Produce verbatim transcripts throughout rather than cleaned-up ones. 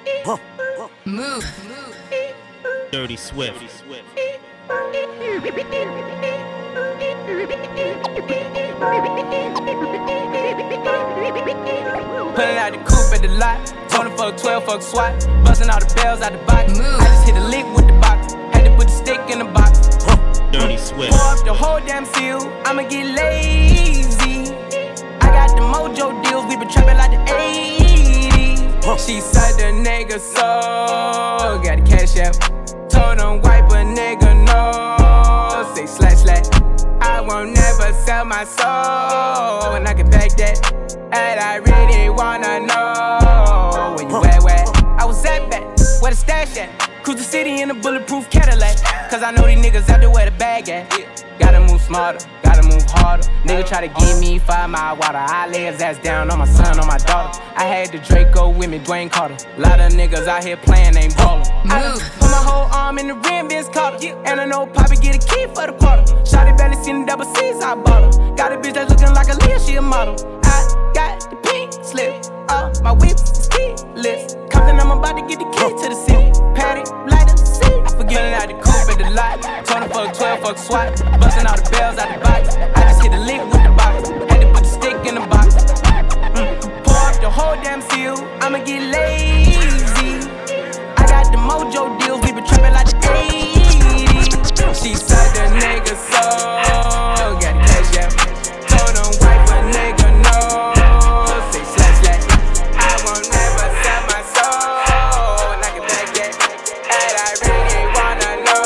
Huh. Move. Dirty Swift. Pulling out the coupe at the lot. twenty fuck twelve, fuck SWAT. Busting all the bells out the box. Move. I just hit a lick with the box. Had to put the stick in the box. Dirty Swift. Pour up the whole damn seal. I'ma get lazy. I got the mojo deals. We been trapping like the eighties. She said the nigga so. Got the cash out. Told him wipe a nigga no. Say slash slash. I won't never sell my soul. And I can back that. And I really wanna know where you at, where I was at back, where the stash at. Cruise the city in a bulletproof Cadillac. Cause I know these niggas out there where the bag at. Gotta move smarter, gotta move harder. Nigga try to give me five mile water. I lay his ass down on my son, on my daughter. I had the Draco with me, Dwayne Carter. Lot of niggas out here playing, ain't ballin'. I done put my whole arm in the rim, Vince Carter. And I know Poppy get a key for the quarter. Shawty barely seen the double C's, I bought her. Got a bitch that's looking like a Leah, she a model. I got the pink slip, uh, my whip is keyless. Compton, I'm about to get the key to the city. Patty, light up the seat. Forgetting out the coupe at the lot. twenty fuck twelve, fuck SWAT. Busting all the bells out the box. I just hit a lick with the box. Had to put the stick in the box. Mm. Pour up the whole damn seal. I'ma get lazy. I got the mojo deals. We been trapping like the eighties. She said the nigga so. Got the cash out. Told him wipe a nigga no. Say slash slash. I won't never sell my soul. And I can back that. And I really wanna know.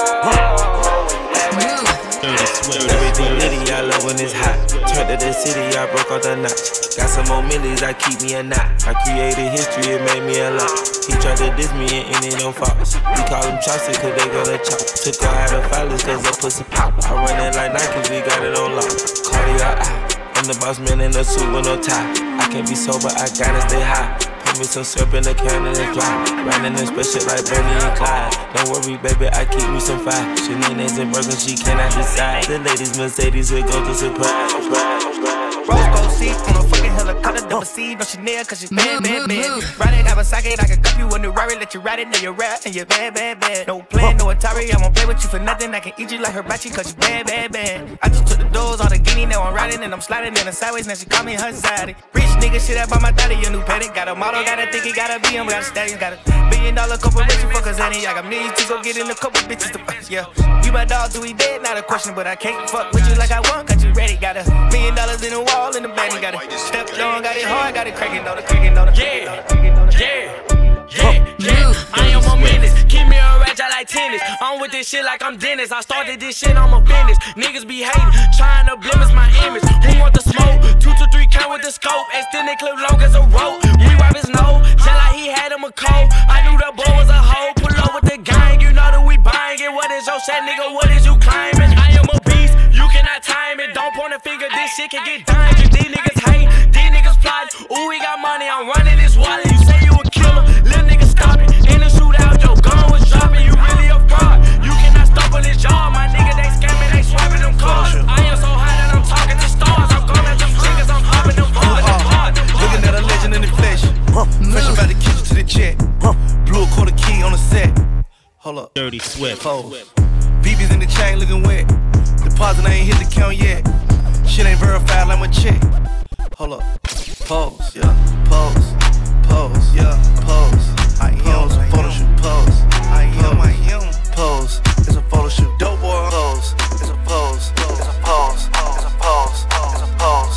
Dirty Swift. Everything litty, I love when it's hot. Turned to the city, I broke off the notch. Got some more millies, I keep me a knot. I created history, it made me a lot. He tried to diss me and any them faults. We call them chopsticks cause they gonna chop. Took her out of filers cause her pussy pop. I run it like Nike, we got it on lock. Cardio out. I'm the boss man in a suit with no tie. I can't be sober, I gotta stay high. Put me some syrup in the can and it's dry. Riding this special like Bonnie and Clyde. Don't worry, baby, I keep me some fire. She names and Birkin, she cannot decide. The ladies Mercedes will go to surprise. Rose gold seat on a fucking helicopter, double C, no Chanel, cause she's bad, bad, bad. Ride it, have a socket, I can cup you in the Rari, let you ride it, now you're rap, and you're bad, bad, bad. No plan, no Atari, I won't play with you for nothing, I can eat you like hibachi, cause you bad, bad, bad. I just took the doors, all the guinea, now I'm riding, and I'm sliding in the sideways, now she call me her side. Rich nigga, shit out by my daddy, a new paddock, got a model, got a think he got a B M, got a stallion, got a billion dollar corporation, fuckers, honey, I got millions to go get in a couple bitches to fuck, yeah. You my dog, do we dead? Not a question, but I can't fuck with you like I want, cause you ready, got a million dollars in the wall, in the bank, got it step long, got it hard, got it cracking on the cracking on the yeah, yeah, yeah, yeah. I am on minutes. Keep me a ratchet like tennis. I'm with this shit like I'm Dennis. I started this shit, I'm a business. Niggas be hating, trying to blemish my image. Who want the smoke? Two to three count with the scope. Extended clip long as a rope. We wipe his nose, just like he had him a cold. I knew the boy was a hoe. Pull up with the gang, you know that we buying it. What is your set, nigga? What is you climbing? I am a beast, you cannot time it. Don't point a finger, this shit can get done. These niggas hate, these niggas plot. Ooh, we got money, I'm running this wallet. You say you a killer, little nigga stop it. In the shootout, your gun was dropping. You really a fraud. You cannot stop on this job, my nigga. They scamming, they swiping them cars. I am so high that I'm talking to stars. I'm going at them chickens, I'm hopping them bars. Looking at a legend in the flesh. Fresh about the kitchen to the check. Blew a quarter key on the set. Hold up. Dirty Swift. V B's in the chain looking wet. Deposit, I ain't hit the count yet. Shit ain't verified like my check. Hold up. Pose, yeah. Pose. Pose, yeah. Pose. I am a photo shoot. Pose. I am, I am. Pose. It's a photo shoot. Dope boy. Pose. It's a pose. It's a pose. It's a pose. It's a pose.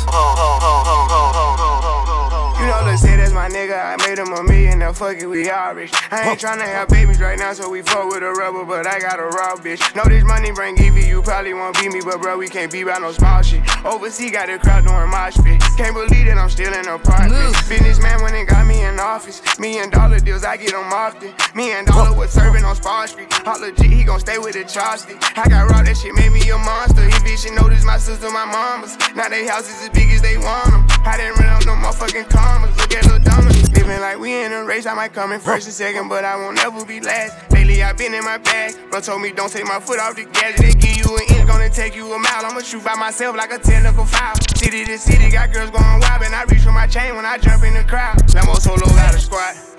You know, let's say that's my nigga. I made him a million. Now fuck it, we all rich. I ain't tryna have babies right now, so we fuck with a rubber, but I got a raw bitch. Know this money bring Evie, you probably won't beat me, but bro, we can't be by no small shit. Overseas got the crowd doing mosh pit. Can't believe that I'm still in the apartment. Businessman when they got me in office. Million dollar deals, I get them often. Me and Dollar was serving on Spar Street. Hot legit, he gon' stay with the chopstick. I got raw, that shit made me a monster. He bitch, she noticed my sister, my mamas. Now they houses as big as they want them. I didn't run out no motherfucking commas. Look at Lil Dominic. Living like we in a race, I might come in first and second, but I won't ever be last. Lately I been in my bag. Bro told me don't take my foot off the gas. They give you an inch, gonna take you a mile. I'ma shoot by myself like a technical foul. City to city, got girls going wild, and I reach for my chain when I jump in the crowd. Lambo solo got a squad.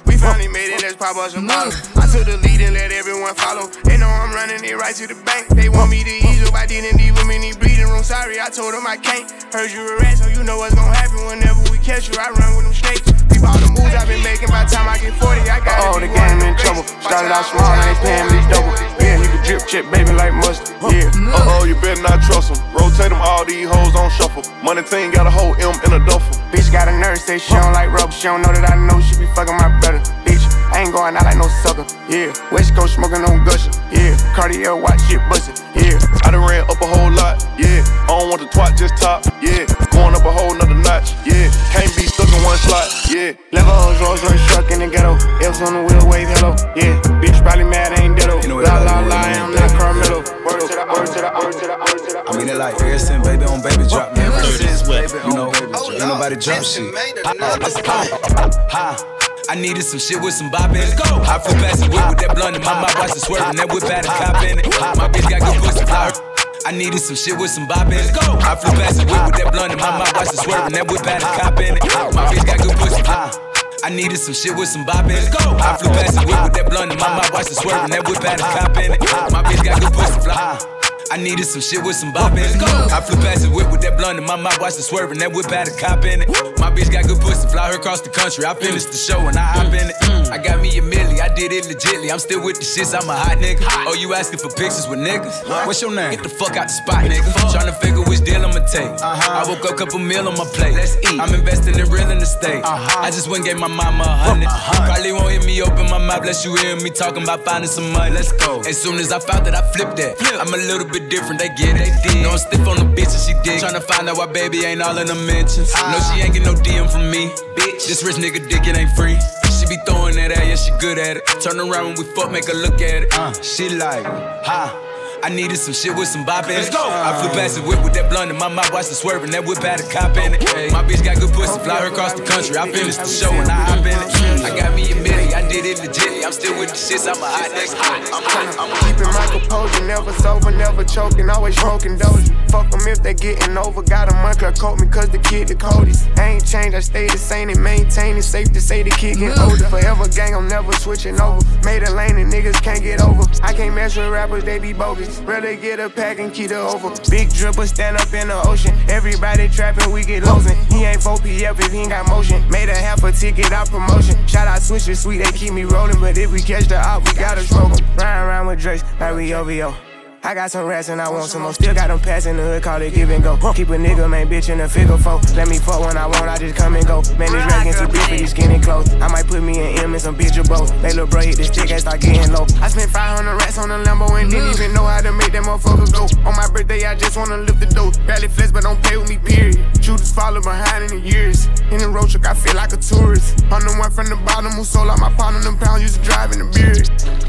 We finally made it, let's pop us some bottles. I took the lead and let everyone follow. They know I'm running it right to the bank. They want me to ease up, I didn't leave them in the bleeding room. Sorry, I told them I can't. Heard you a rat, so you know what's gonna happen whenever we catch you. I run with them snakes. Peep all the moves I've been making. By the time I get forty, I got it. Oh, the game in trouble. Started out small, now they paying me double. Yeah, he can drip check, baby, like mustard. Yeah. Uh oh, you better not trust them. Rotate them, all these hoes on shuffle. Money team got a whole M in a duffel. Bitch got a nurse, say she don't like rubber. She don't know that I know she be fucking my brother. Bitch, I ain't going out like no sucker. Yeah, West Coast smoking on gusher. Yeah, Cartier watch shit bustin'. Yeah, I done ran up a whole lot. Yeah, I don't want the twat, just top. Yeah, going up a whole nother notch. Yeah, can't be stuck in one slot. Yeah, Levels, Rolls Royce truck in the ghetto. F's on the wheel, wave hello. Yeah, bitch probably mad, ain't ditto. La la la, I'm not Carmelo. Word to the, word to the, word to the, word to the. I mean it like ever since baby on baby drop, man. Ever Dirty since Swift. baby, you know, ain't nobody drop shit. Let's go. Ha. I needed some shit with some bop in it. I flew past the whip with that blunt in my mouth, watched it swerving. That whip had a cop in it. My bitch got good pussy flower. I needed some shit with some bop in it. I flew past the whip with that blunt in my mouth, watched it swerving. That whip had a cop in it. My bitch got good pussy flower. I needed some shit with some bop in it. I flew past the whip with that blunt in my mouth, watched it swerving. That whip had a cop in it. My bitch got good pussy flower. I needed some shit with some bop in it. I flew past the whip with that blunt in my mouth, watched it swerving. That whip had a cop in it. My bitch got good pussy, fly her across the country. I finished the show and I hop in it. I got me a milli, I did it legitly. I'm still with the shits, I'm a hot nigga. Oh, you asking for pictures with niggas? What's your name? Get the fuck out the spot, nigga. Tryna figure which deal I'ma take. I woke up, couple meal on my plate. Let's eat. I'm investing in real estate. I just went and gave my mama a hundred. Probably won't hear me open my mouth, bless you hear me talking about finding some money. Let's go. As soon as I found that, I flipped that. I'm a little bit different, they get it. No, I'm stiff on the bitch and she dig. Tryna find out why baby ain't all in the mentions. No, she ain't get no D M from me. Bitch, this rich nigga dick, it ain't free. She be throwing that at, yeah, she good at it. Turn around when we fuck, make her look at it. Uh, she like, ha. I needed some shit with some bop in it. I flew past the whip with that blunt in my mouth, watched it swerving. That whip had a cop in it. My bitch got good pussy, fly her across the country. I finished the show and I hop in it. I got me a milli, I did it legitly. I'm still with the shits, I'm a hot nigga. I'm tryna, I'm keeping my composure, never sober, never choking, always smoking dozy. Fuck them if they getting over. Got a month, coat me cause the kid the coldest. I ain't changed, I stay the same and maintain it. Safe to say the kid getting older. Forever gang, I'm never switching over. Made a lane and niggas can't get over. I can't mess with rappers, they be bogus. Rather get a pack and keep it over. Big dripper stand up in the ocean. Everybody trapping, we get losing. He ain't four P F if he ain't got motion. Made a half a ticket out promotion. Shout out Swisher Sweet, they keep me rolling. But if we catch the op, we gotta smoke 'em. Ride around with Drakes like we O V O. I got some rats and I want some more. Still got them pass in the hood, call it give and go. Keep a nigga, man, bitch in the figure four. Let me fuck when I want, I just come and go. Man, this rap getting too big for these skinny clothes. I might put me an M and some bitch or both. They little bro hit the stick and start getting low. I spent five hundred rats on a Lambo and didn't even know how to make that motherfucker go. On my birthday, I just wanna lift the dough. Barely flex, but don't pay with me, period. Shooters follow behind in the years. In the road truck, I feel like a tourist. I'm the one from the bottom who sold out my pound on them pounds, used to drive in the beard.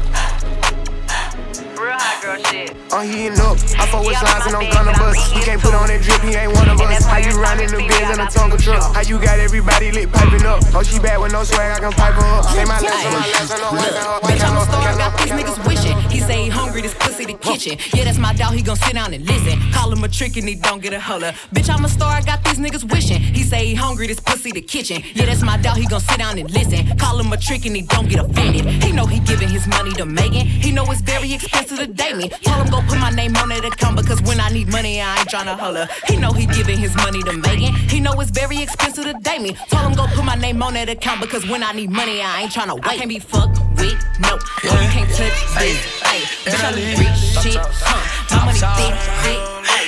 Real hot girl shit. I'm heating up. I fuck with slides and I'm gonna bust. He can't put on that drip, he ain't one of us. How you riding the Benz in a Tonka truck? How you got everybody lit piping up? Oh, she bad with no swag, I can pipe her up. Say my last and my last and I'm wiping her. Bitch, I'm a star, got these niggas wishing. He say he hungry, this pussy the kitchen. Yeah, that's my dog, he gon' sit down and listen. Call him a trick and he don't get a holler. Bitch, I'm a star, I got these niggas wishing. He say he hungry, this pussy the kitchen. Yeah, that's my dog, he gon' sit down and listen. Call him a trick and he don't get offended. He know he giving his money to Megan. He know it's very expensive to date me. Tell him go put my name on that account because when I need money, I ain't tryna holler. He know he giving his money to Megan. He know it's very expensive to date me. Tell him go put my name on that account because when I need money, I ain't tryna wait. I can't be fucked with, no. No, you can't touch this. Ay, bitch, I look rich shit, huh? My money thick, thick.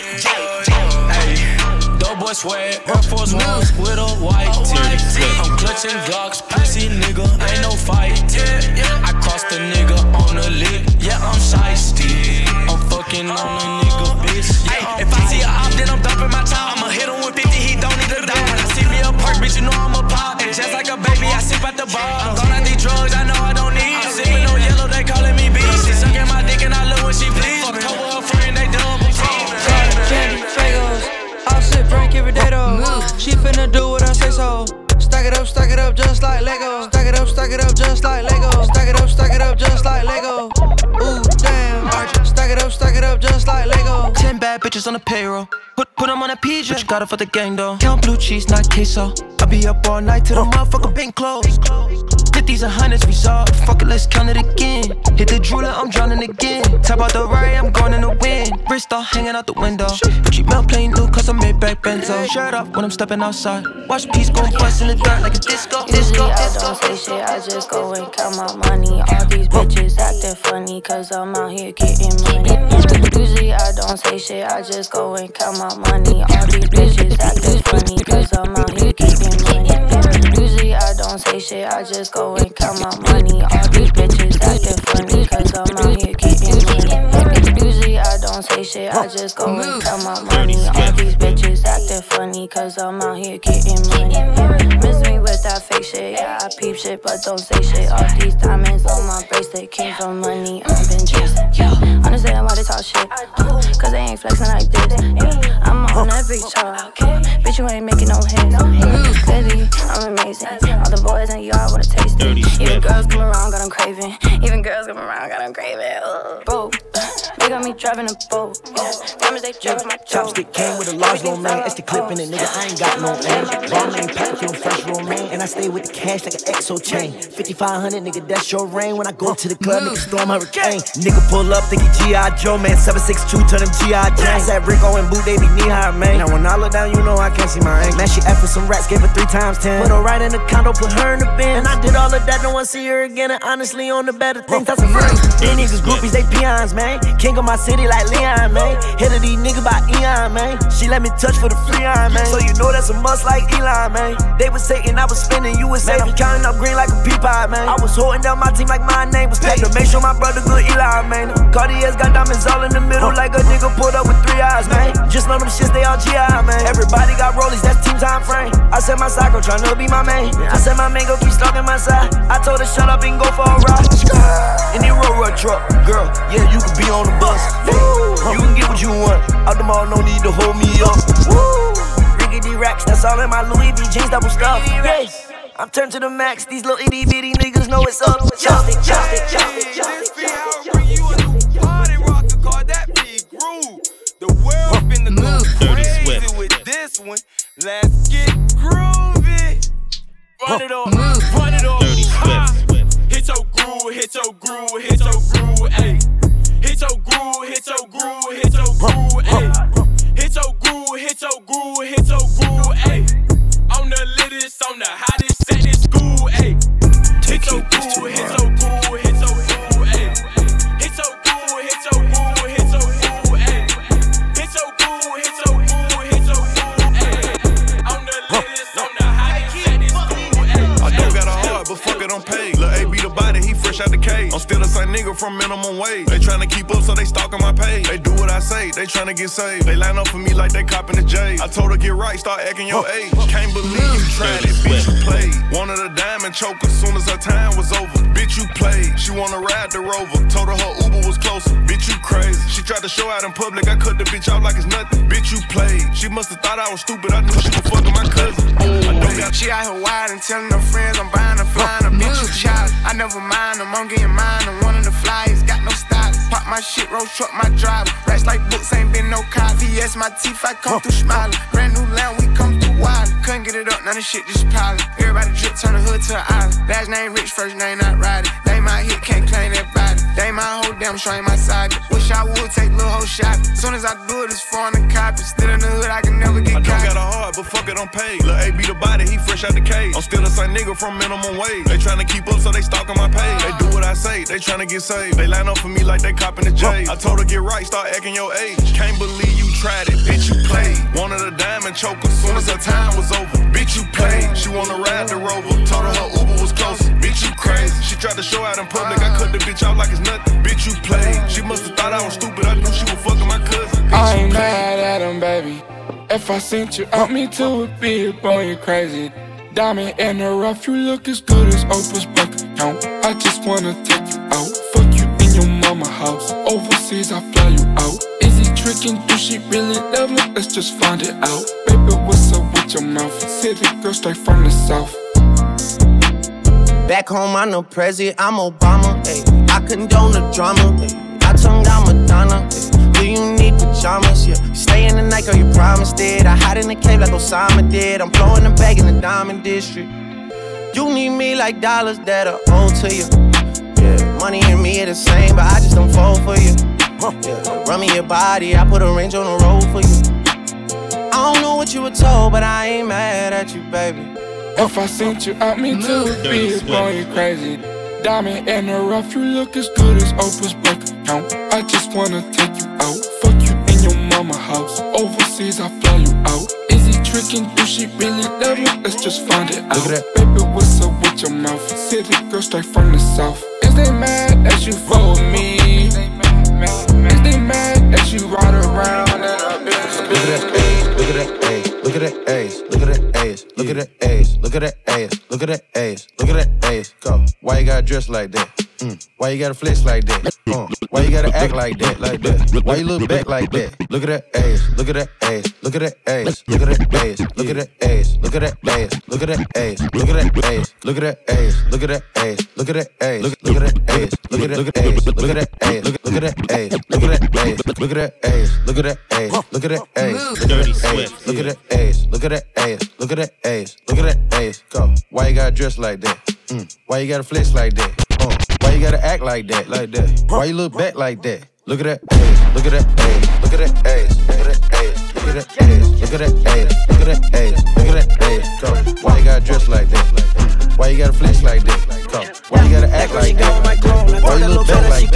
Ay, dope boy swag, Air Force Ones with a white tee. I'm clutching Glocks, pussy nigga, ain't no fight. I crossed the nigga on the lick, yeah, I'm shiesty. I'm fucking on a nigga, bitch. Ay, if I see a op, then I'm dumping my top. I'ma hit him with fifty, he don't need a dime. When I see me a perk, bitch, you know I'm a pop. And just like a baby, I sip out the bar. I'm gone out these drugs, I know I don't need. I'm sipping on yellow, they calling me beast. She sucking my dick and I love when she please. Fuck over her friend, they double team. Candy, Fagos, all sit drink every day though. She finna do what I say so. Stack it up, stack it up just like Lego. Stack it up, stack it up just like Lego. Stack it up, stack it up just like Lego. Ooh, damn. Stack it up, stack it up just like Lego. Ten bad bitches on the payroll. Put put them on a P J. But you got it for the gang though. Count blue cheese, not queso. I be up all night till the motherfucker been closed. Hit fifties and hundreds resolved. Fuck it, let's count it again. Hit the drooler, I'm drowning again. Top out the ride, I'm going in the wind. Wrist all hanging out the window. Gucci melt playing new cause I made back benzo. Shirt off when I'm stepping outside. Watch peace go bust in the dirt like a disco. Usually I don't say shit, I just go and count my money. All these bitches acting funny cause I'm out here getting money. Usually I don't say shit, I just go and count my money. All these bitches acting funny cause I'm out here getting money. Usually I don't say shit, I just go and count my money. All these bitches acting funny cause I'm out here getting money. Usually I don't say shit, I just go and count my money. All these bitches acting funny cause I'm out here getting money. Miss me with that fake shit, yeah, I peep shit but don't say shit. All these diamonds on my bracelet came from money I've been chasing. Understand why they talk shit, uh, cause they ain't flexing like this. Yeah, I'm on that big talk, bitch you ain't making no hits. Yeah, clearly I'm amazing. All the boys in the yard wanna taste it. Even girls come around, got them craving. Even girls come around, got them craving. Uh, bro, they got me driving a boat. Yeah, diamonds they driving my chopstick came with a large little man. It's the clip in it, nigga. I ain't got no aim. Ball name, pack feeling fresh, romaine. And I stay with the cash like an exo chain. fifty-five hundred, nigga, that's your rain. When I go to the club, nigga, storm hurricane. Nigga pull up, think he G I Joe, man. seven six two, turn him G I Jane. That Rico and Boo, they be knee high, man. Now when I look down, you know I can't see my aim. Man, she asked for some rats, gave her three times ten. Put her right in the condo, put her in the bin. And I did all of that, no one see her again. And honestly, on the better things, that's a friend. These niggas groupies, they peons, man. King of my city like Leon, man. Head of these niggas by Eon, man. She let me touch for the free on, man. So you know that's a must like Elon, man. They was Satan, I was spinning, you was safe. I'm counting up green like a pea pie, man. I was holding down my team like my name was paid. To make sure my brother good Elon, man. Cartier's got diamonds all in the middle like a nigga pulled up with three eyes, man. Just know them shits, they all G I, man. Everybody got rollies, that's team time frame. I said my psycho tryna be my main. I said my man go keep stalking my side. I told her shut up and go for a ride. In the road road truck, girl, yeah, you can be on the bus. You can get what you want. Out the mall, no need to hold me up. Woo! Riggedy racks, that's all in my Louis V jeans, double stuff. Yes, I'm turned to the max. These little itty bitty niggas know it's up. Chopstick, chopstick, chopstick, chopstick, chopstick. Bring you a new party rocker called that big groove. The world finna go crazy with this one. Let's get groovy. Run it off, run it off. Dirty Swift. Hit your groove, hit your groove, hit your groove, ayy. Hit your groove, hit your groove, hit your groove, ayy. Hit your groove, hit your groove, hit your groove, ayy. On the latest, on the hottest set in school, ayy. Hit your groove, hit your groove, hit your groove, ayy. Hit your groove, hit your groove, hit your groove, ayy. Hit your groove, hit your groove, hit your groove, ayy. On the latest, on the hottest set in school, ayy. I don't got a heart, but fuck it, I'm paid. Lil' A be the body, he fresh out the cage. I'm still the same nigga from minimum wage. They tryna keep up, so they stalking my page. They do what I say, they tryna get saved. They line up for me like they copping the J. I told her get right, start acting your age. Can't believe you tried it, bitch, you played. Wanted a diamond choker, soon as her time was over. Bitch, you played. She wanna ride the Rover, told her her Uber was closer. Bitch, you crazy. She tried to show out in public, I cut the bitch out like it's nothing. Bitch, you played. She must've thought I was stupid, I knew she was fucking my cousin. I don't got she out here wild and telling her friends I'm buying her flying her. Bitch, you child. I never mind them, I'm getting mine. I'm one of the flyers, got no stylist. Pop my shit, road truck, my driver. Racks like books, ain't been no cop. V S my teeth, I come through smiling. Brand new land, we come through wild. Couldn't get it up, none of shit just piling. Everybody drip, turn the hood to an island. Last name rich, first name not riding. They my hit, can't claim that body. They my whole damn show, ain't my side. Wish I would take little whole shot. Soon as I do it, it's foreign and copy. Still in the hood, I can never get I don't caught. got a heart, but fuck it, I'm paid. Lil' A be the body, he fresh out the cage. I'm still the same nigga from minimum wage. They tryna keep up, so they stalking my page. They do what I say, they tryna get saved. They line up for me like they copping the J. I told her get right, start acting your age. Can't believe you tried it, bitch, you played. Wanted a diamond choker, soon as her time was over. Bitch, you played. She wanna ride the Rover, told her her Uber was closer. Bitch, you crazy. She tried to show out in public, I cut the bitch out like it's nothing. Bitch, you played. She must've thought I was stupid, I knew she was fucking my cousin. Bitch, I ain't mad at him, baby. If I sent you out, me too would be up on you crazy. Diamond in the rough, you look as good as Oprah's bank account. I just wanna take you out, fuck you in your mama house. Overseas, I fly you out. Is he tricking? Do she really love me? Let's just find it out. Baby, what's up with your mouth? City girl straight from the south. Back home, I'm no president, I'm Obama. Ay. I condone the drama. Ay. I tongue down Madonna. Ay. Do you need pajamas? Yeah. You stay in the night, girl, you promised it. I hide in the cave like Osama did. I'm blowing the bag in the diamond district. You need me like dollars that are owed to you. Yeah, money and me are the same, but I just don't fold for you. Yeah, run me your body, I put a range on the road for you. I don't know what you were told, but I ain't mad at you, baby. If I sent you out, me too would be a boy, you crazy. Diamond in the rough, you look as good as Oprah's bank account. I just wanna take you out, fuck you in your mama house. Overseas, I fly you out. Is he tricking? Do she really love you? Let's just find it out. Look at that. Baby, what's up with your mouth? City girl straight from the south. Is they mad that you fuck with me? Is they mad that you ride around in a bitch? Look at that, look at that, ayy. Look at that ass, look at that ass, look at that ass, look at that ass, look at that ass, look at that ass. Go. Why you gotta dress like that? Mm. Why you gotta flex like that? Uh. Why you gotta act like that, like that? Why you look back like that? Look at that ass, look at that ass, look at that ass, look at that ass, look at that ass, look at that ass, look at that ass, look at that ass, look at that ass, look at that ass, look at that ass, look look at that ass, look at that look at ass, look at that ass, look look at that ass, look at that ass, look at that ass, look at that ass, look at that ass, Dirty Swift. look at that ass, look at that ass, look at that ass, look at that ass. Go. Why you gotta dress like that? Mm. Why you gotta flex like that? Uh. Why you gotta act like that, like that? Why you look back like that? Look at that ass, look at that ass, look at that ass, look at that ass, look at that ass, look at that ass, look at that ass, look at that ass. Go. Why you gotta dress like that? Why you gotta flex like that? Go. Why you gotta act like that? Why you look back like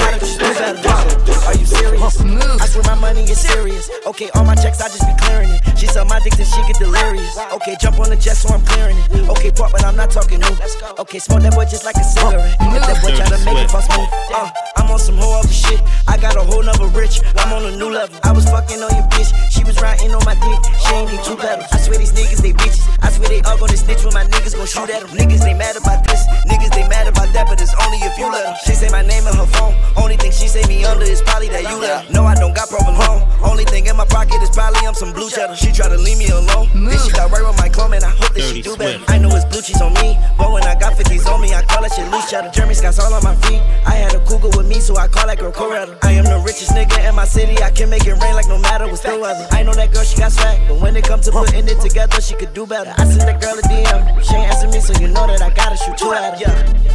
that? Are you serious? I swear my money is serious. Okay, all my checks, I just be clearing it. She suck my dick till she get delirious. Okay, jump on the jet so I'm clearing it. Okay, pop, but I'm not talking new. Okay, smoke that boy just like a cigarette. If that boy try to make it bust move, uh, I'm on some whole other shit. I got a whole nother rich. I'm on a new level. I was fucking on your bitch. She was riding on my dick. She ain't need two pedals. I swear these niggas, they bitches. I swear they all gonna snitch when my niggas gon' shoot at them. Niggas, they mad about this. Niggas, they mad about that, but it's only if you let them. She say my name in her phone. Only thing she say me under is probably that you let her. No, I don't got problem home. Only thing in my pocket is probably I'm some blue cheddar. She try to leave me alone. Then she got right with my clone, man. I hope that she do better. I know it's blue cheese on me, but when I got fifties on me, I call that shit loose cheddar. Jeremy Scott's all on my feet. I had a cougar with me, so I call that girl Coretta. I am the richest nigga in my city. I can make it rain like no matter what's the weather. I know that girl, she got swag, but when it comes to putting it together, she could do better. I sent that girl a D M. She ain't answer me, so you know that I gotta shoot two at her.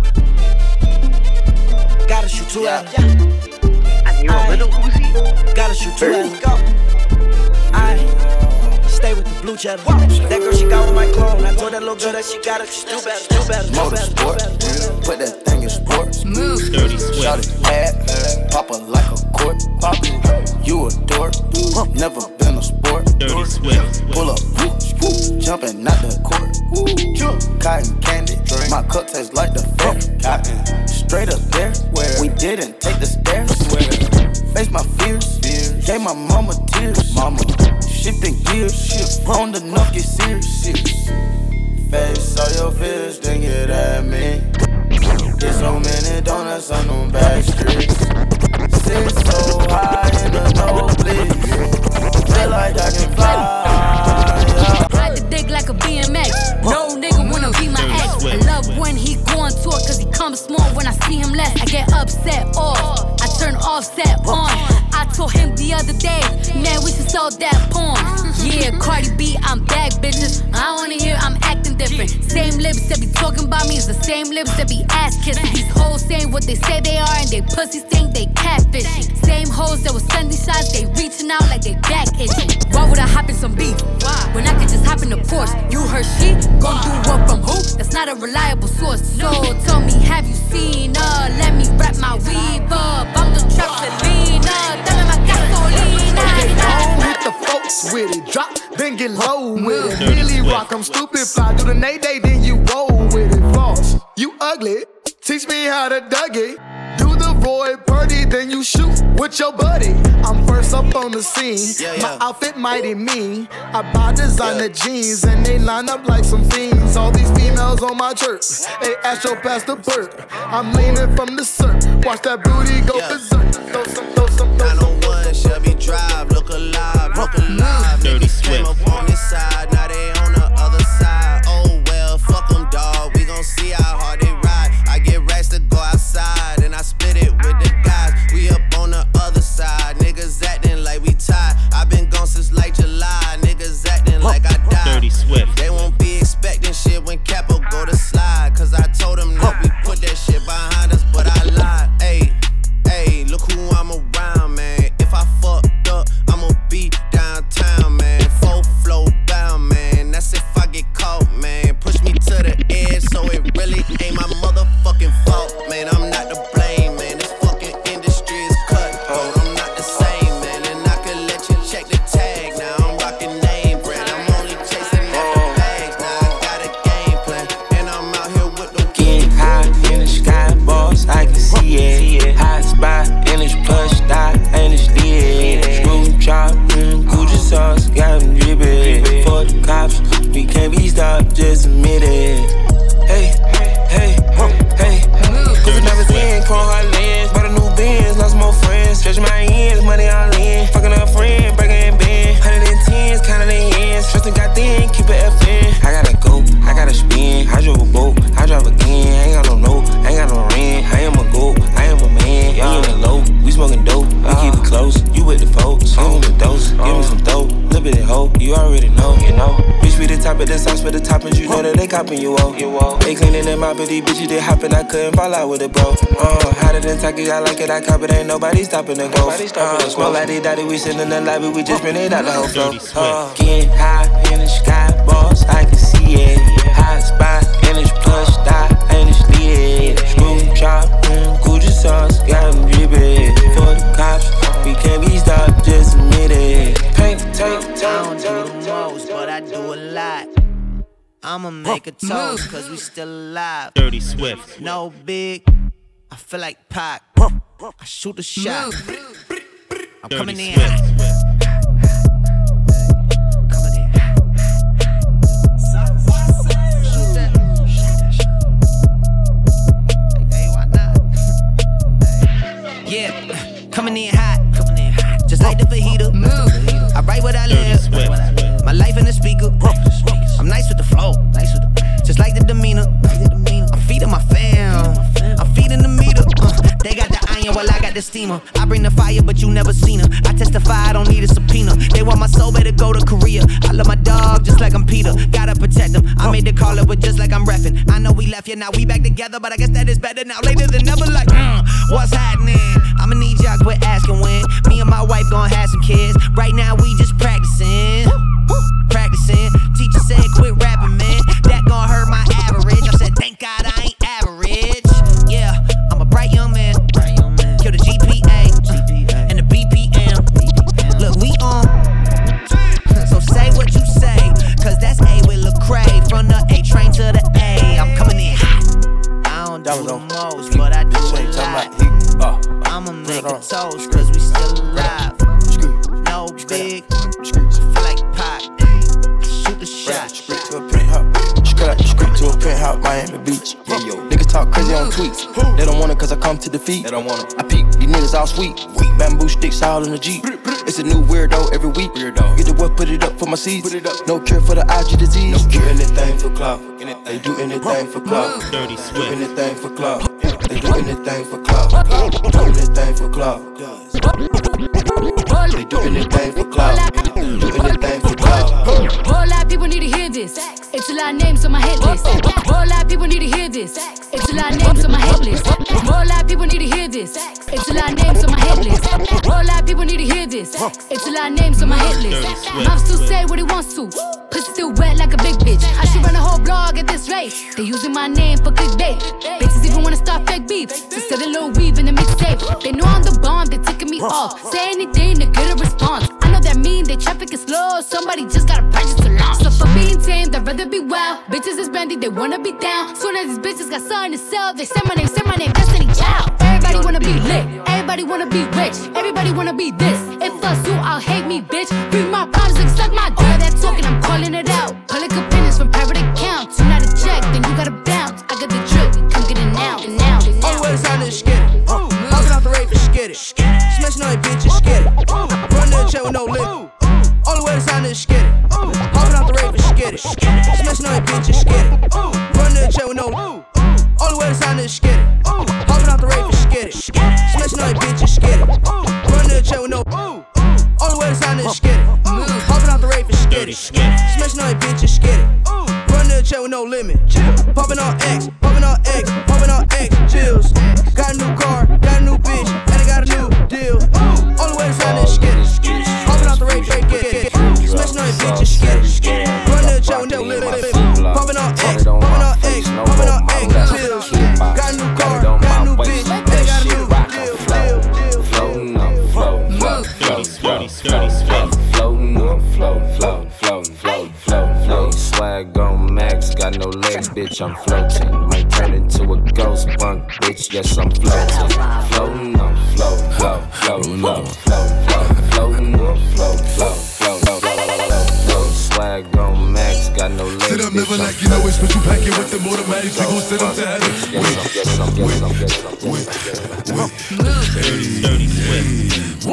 Gotta shoot two at her. And you a little Uzi? Gotta shoot two at her. I stay with the blue cheddar. That girl, she got with my clone. I told that little girl that she got it. She do better, do better, do better, do better, do better. Put that thing in sports. Move. Dirty Swift. Shout it bad, pop it like a court. Pop it, you a dork. Never been a sport. Dirty Swift. Pull up, jumping out the court. Cotton candy, my cup tastes like the fair. Cotton, straight up there. We didn't take the stairs. Face my fears, gave my mama tears. Mama, shifting gears, shift on the enough get serious. Face all your fears, then get at me. Get so many donuts on them back streets. Sit so high in the nosebleed. Feel like I can fly. Ride the dick like a B M X. No nigga wanna be my ex. I love when he go on tour cause he comes small. When I see him less, I get upset off. I turn offset on. I told him the other day, man, we should sell that porn. Yeah, Cardi B, I'm back, bitches. I wanna hear I'm acting different. Same lips that be talking about me is the same lips that be ass kissing. These hoes saying what they say they are and they pussies think they catfishing. Same hoes that was sending shots, they reaching out like they back itching. Why would I hop in some beef when I could just hop in the Porsche? You heard she gon' do what from who? That's not a reliable source. So tell me, have you seen her? Let me wrap my weave up. I'm the trap Selena. Dame my gasolina. Okay, don't hit the folks with it. Drop, then get low with it. Really rock, I'm stupid. Fly do the nay day, then you roll with it. False, you ugly. Teach me how to Dougie. Do the void party, then you shoot with your buddy. I'm first up on the scene. Yeah, yeah. My outfit mighty mean. I buy designer yeah. jeans and they line up like some fiends. All these females on my chirp. Hey, Astro past the perk. I'm leaning from the surf. Watch that booty go yeah. berserk. Throw some, throw some, throw some. nine oh one Shelby Drive. Look alive, look alive. Dirty Niggas came up on this side, now they on the other side. Oh well, fuck them, dawg. We gon' see how hard they ride. I get racks to go outside and I split it with the guys. We up on the other side, niggas acting like we tied. I been gone since like July, niggas acting like I died. Dirty Swift. They won't be expecting shit when Capo go to slide. put the sauce with the toppings, you know that they copping you all. They cleaning them out, but these bitches they hopping, I couldn't fall out with it, bro. Uh, hotter than Taki, I like it, I cop it, ain't nobody stopping the go. Uh, smoke like they daddy, we sit in the lobby, we just bring it out the whole flow. Uh, getting high in the sky, boss, I can see it. Hot spot in this plush style, ain't this lit. Screw chop, mm, Gucci sauce, got them drippin'. For the cops, we can't be stopped, just admit it. Paint, tape, I don't do the most, but I do a lot. I'ma make a toast, cause we still alive. Dirty Swift. No big, I feel like Pac. I shoot a shot. I'm Dirty coming in. Swift. Yeah, coming in hot, coming in hot, just like the fajita. I write what I live, my life in the speaker. I'm nice with the flow, nice with the, just like the demeanor. I'm feeding my fam, I'm feeding the meter. Uh, they got the iron while I got the steamer. I bring the fire, but you never seen her. I testify, I don't need a subpoena. They want my soul, better go to Korea. I love my dog just like I'm Peter. Gotta protect him. I made the call up, but just like I'm reffing. I know we left, yeah, now we back together, but I guess that is better now. Later than never, like, mm, what's happening? I'ma need y'all quit asking when. Me and my wife gon' have some kids. Right now we just practicing. Practicing. Teacher said quit rapping, man. That gon' hurt my average. I said thank God I ain't average. Yeah, I'm a bright young man. Kill the G P A and the B P M. Look, we on. So say what you say, cause that's A with Lecrae. From the A train to the A. I'm coming in hot. I don't do the most, but I do a lot. I'ma make a toast, cause we still alive. No big, I feel like Pac. Shoot the shot. Street to a penthouse. Street to a penthouse, Miami Beach. Yeah, yo. Niggas talk crazy on tweets. They don't want it cause I come to defeat. They don't want it. I peep, these niggas all sweet. Bamboo sticks all in the Jeep. It's a new weirdo every week. Weirdo. Get the what, put it up for my seeds. No cure for the I G disease. No cure. Anything for clout. They do anything for clout. Dirty Swift. Do anything for clout. They do anything for clout. Do anything for clout. They do anything for clout. Do anything for clout. Whole lot of people need to hear this. It's a lot of names on my hit list. Whole lot of people need to hear this. It's a lot of names on my hit list. Whole lot of people need to hear this. It's a lot of names on my hit list. Whole lot of people need to hear this. It's a lot of names on my hit list. Mom still say what he wants to. Pussy still wet like a big bitch. I should run a whole blog at this rate. They using my name for clickbait. Bitches even wanna start fake beef. Just set a little weave in the mixtape. They know I'm the bomb, they ticking me off. Say anything to get a response. I know that mean they traffic is slow. Somebody just gotta purchase to launch. So for being tame, I'd rather be wild. Bitches is brandy, they wanna be down. Soon as these bitches got something to sell, they say my name, say my name, Destiny Child. Everybody wanna be lit, everybody wanna be rich, everybody wanna be this. If us you, I'll hate me, bitch. Bring my problems and suck my dick. All that talking, I'm calling it out. Public opinions from private accounts. You not a check, then you gotta bounce. I got the drip, come get it now, and now, and now. All the way to sign is skitty. Hopping off the rave for skitty. Smashing on your bitches, skitty. Run to the check with no lip. All the way to sign is skitty. Hopping off the rave for skitty. Smashing on your bitches, skitty. Run to the check with no lip. All the way to sign is skitty. Hopping off the rave for skitty. Smashing on your bitches, skitty. Run to the check with no lip. All the way to sign is skitty. Hopping off the rave for skitty. Smashing on your bitches, skitty. Run to the check with no limit. Popping on X, popping on X, popping on X. Chills. Got a new car, got a new bitch, and I got a new deal. All the way to sign is skitty. Hopping off the rave for skitty. Smashing on your bitches, skitty. Run to the check with no limit. Popping on X, popping on X, popping on X. Chills. Got a new car, got a new bitch, and I got a new deal. Floating on, floating, floating, floating, floating, floating on, floating, floating, floating, floating, floating, floating. Swag on max, got no legs, bitch, I'm floating. Might turn into a ghost bunk, bitch, yes, I'm floating. Floating on, floating, floating, floating, floating, floating, floating on, floating, floating, floating, floating. Swag on max, got no legs, sit up, never like you know it's what you pack it with the automatic. We gon' sit up to heaven. Wait, wait, wait, wait. Dirty Swift.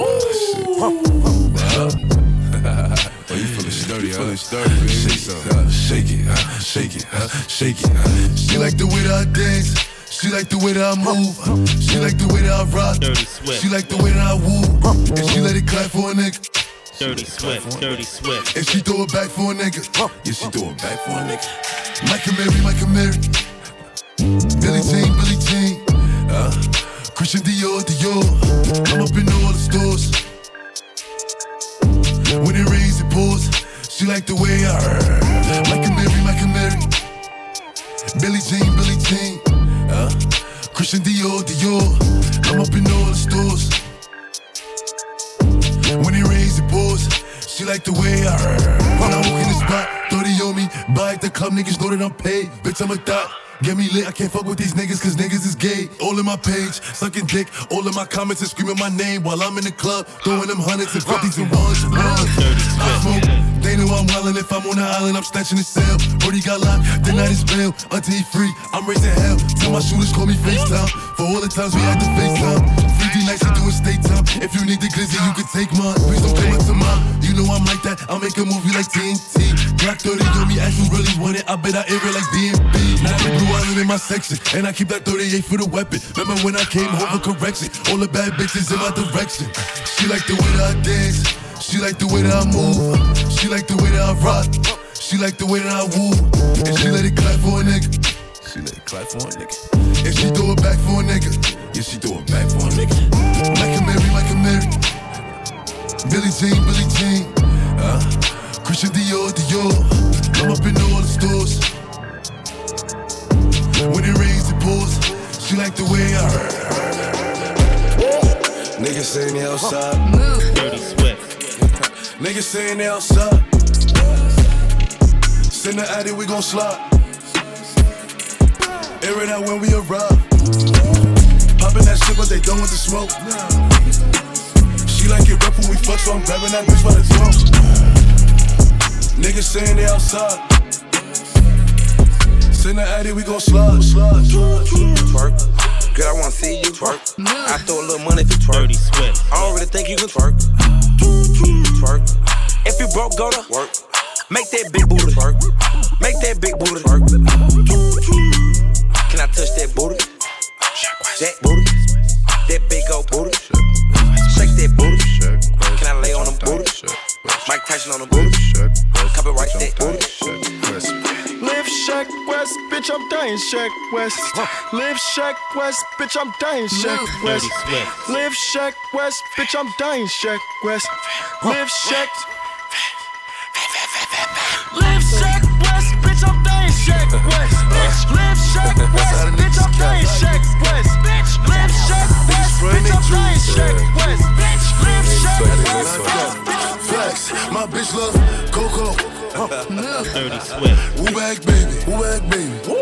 Oh, you feelin' sturdy, huh? Feelin' sturdy, baby. Shake some. Shake it, huh? Shake it, huh? Shake it, huh? She like the way that I dance. She like the way that I move. She like the way that I rock. She like the way that I woo. And she let it clap for a nigga. Dirty Swift, Dirty Swift. And she throw it back for a nigga. Yeah, she throw it back for a nigga. Michael Mary, Michael Mary. Billie Jean, Billie Jean. Uh, Christian Dior, Dior. I'm up in all the stores. When it rains, it pours. She like the way I heard. Michael Mary, Michael Mary. Billie Jean, Billie Jean. Uh, Christian Dior, Dior. I'm up in all the stores. When it rains, it pours. She like the way I heard. When I walk in the spot, thirty on me. Buy at the club, niggas know that I'm paid. Bitch, I'm a thot. Get me lit, I can't fuck with these niggas cause niggas is gay. All in my page, sucking dick. All in my comments and screaming my name while I'm in the club, throwing them hundreds and fifties and ones and ones. I smoke, they know I'm wildin'. If I'm on the island, I'm snatching the cell. Brody got locked, then I just bail. Until he free, I'm raising hell. Tell my shooters call me FaceTime. For all the times we had to FaceTime. three D nights, we doing state time. If you need the glizzy, you can take mine. Please don't come up to mine. You know I'm like that, I'll make a movie like T N T. Black thirty on me, as you really want it. I bet I air it like D M B. Now the blue island in my section, and I keep that thirty-eight for the weapon. Remember when I came home for correction? All the bad bitches in my direction. She like the way that I dance. She like the way that I move. She like the way that I rock. She like the way that I woo. And she let it clap for a nigga. She let it clap for a nigga. And she throw it back for a nigga. Yeah, she throw it back for a nigga. Michael Mary, Michael Mary. Billie Jean, Billie Jean. Uh, Christian Dior, Dior. I'm up in all the stores. When it rains, it pours. She like the way I heard. Niggas saying they outside. Dirty Swift. Niggas saying they outside. Send the addy, we gon' slide. Air it out when we arrive. Poppin' that shit, but they done with the smoke. She like it rough when we fuck, so I'm grabbing that bitch by the throat. Niggas saying they outside. Send the addy, we gon' slide. Twerk. Girl, I wanna see you twerk. I throw a little money for twerk. Dirty Swift. I don't really think you can twerk. Twerk. If you broke, go to work. Make that big booty twerk. Make that big booty twerk. Can I touch that booty? That booty. That big old booty. Shake that booty. Can I lay on them booty? Mike Tyson on them booty. Copyright that booty. Live Shack West, bitch, I'm dying Shack West. Live Shack West, bitch, I'm dying Shack West. Live Shack West, bitch, I'm dying Shack West. Live Shack. Live Shack West, bitch, I'm dying Shack West. Live Shack West, bitch, I'm dying Shack West. Live Shack West, bitch, I'm dying Shack West. Live Shack West, Flex, my bitch love Coco. Dirty Swift. Woo back, baby. Woo back, baby. Woo.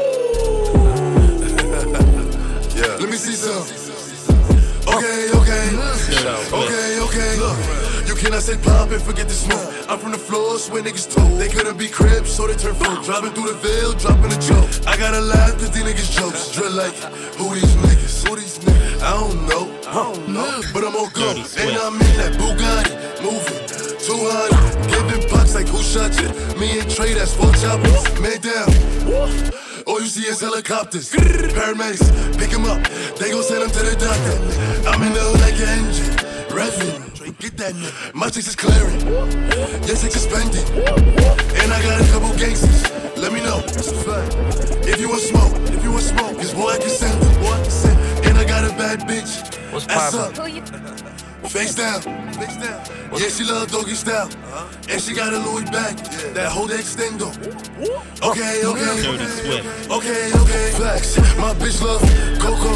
Yeah. Let me see some. Okay, okay. Okay, okay. Look, you cannot say pop and forget the smoke. I'm from the floors where niggas told they couldn't be cribs, so they turn folk. Driving through the veil, dropping a joke. I gotta laugh cause these niggas jokes. Drill like, who these niggas? Who these niggas? I don't know. I don't know. But I'm on go. And I'm in that Bugatti, moving. two hundred, giving bucks like who shot you? Me and Trey, that's four choppers. Man down. All you see is helicopters. Paramedics, pick him up. They gon' send him to the doctor. I'm in the hood like an engine. Revving. Get that nigga. My chicks is clearing. Your chicks is spending. And I got a couple gangsters. Let me know. If you want smoke, if you want smoke, cause boy I can send it. Boy I can send it. And I got a bad bitch. What's Ass poppin'? up. Face down. Face down. Yeah, she love doggy style. Uh-huh. And she got a Louis bag. Yeah. That whole extendo. Okay, okay. Dirty Swift. Okay, okay. Flex. My bitch love Coco.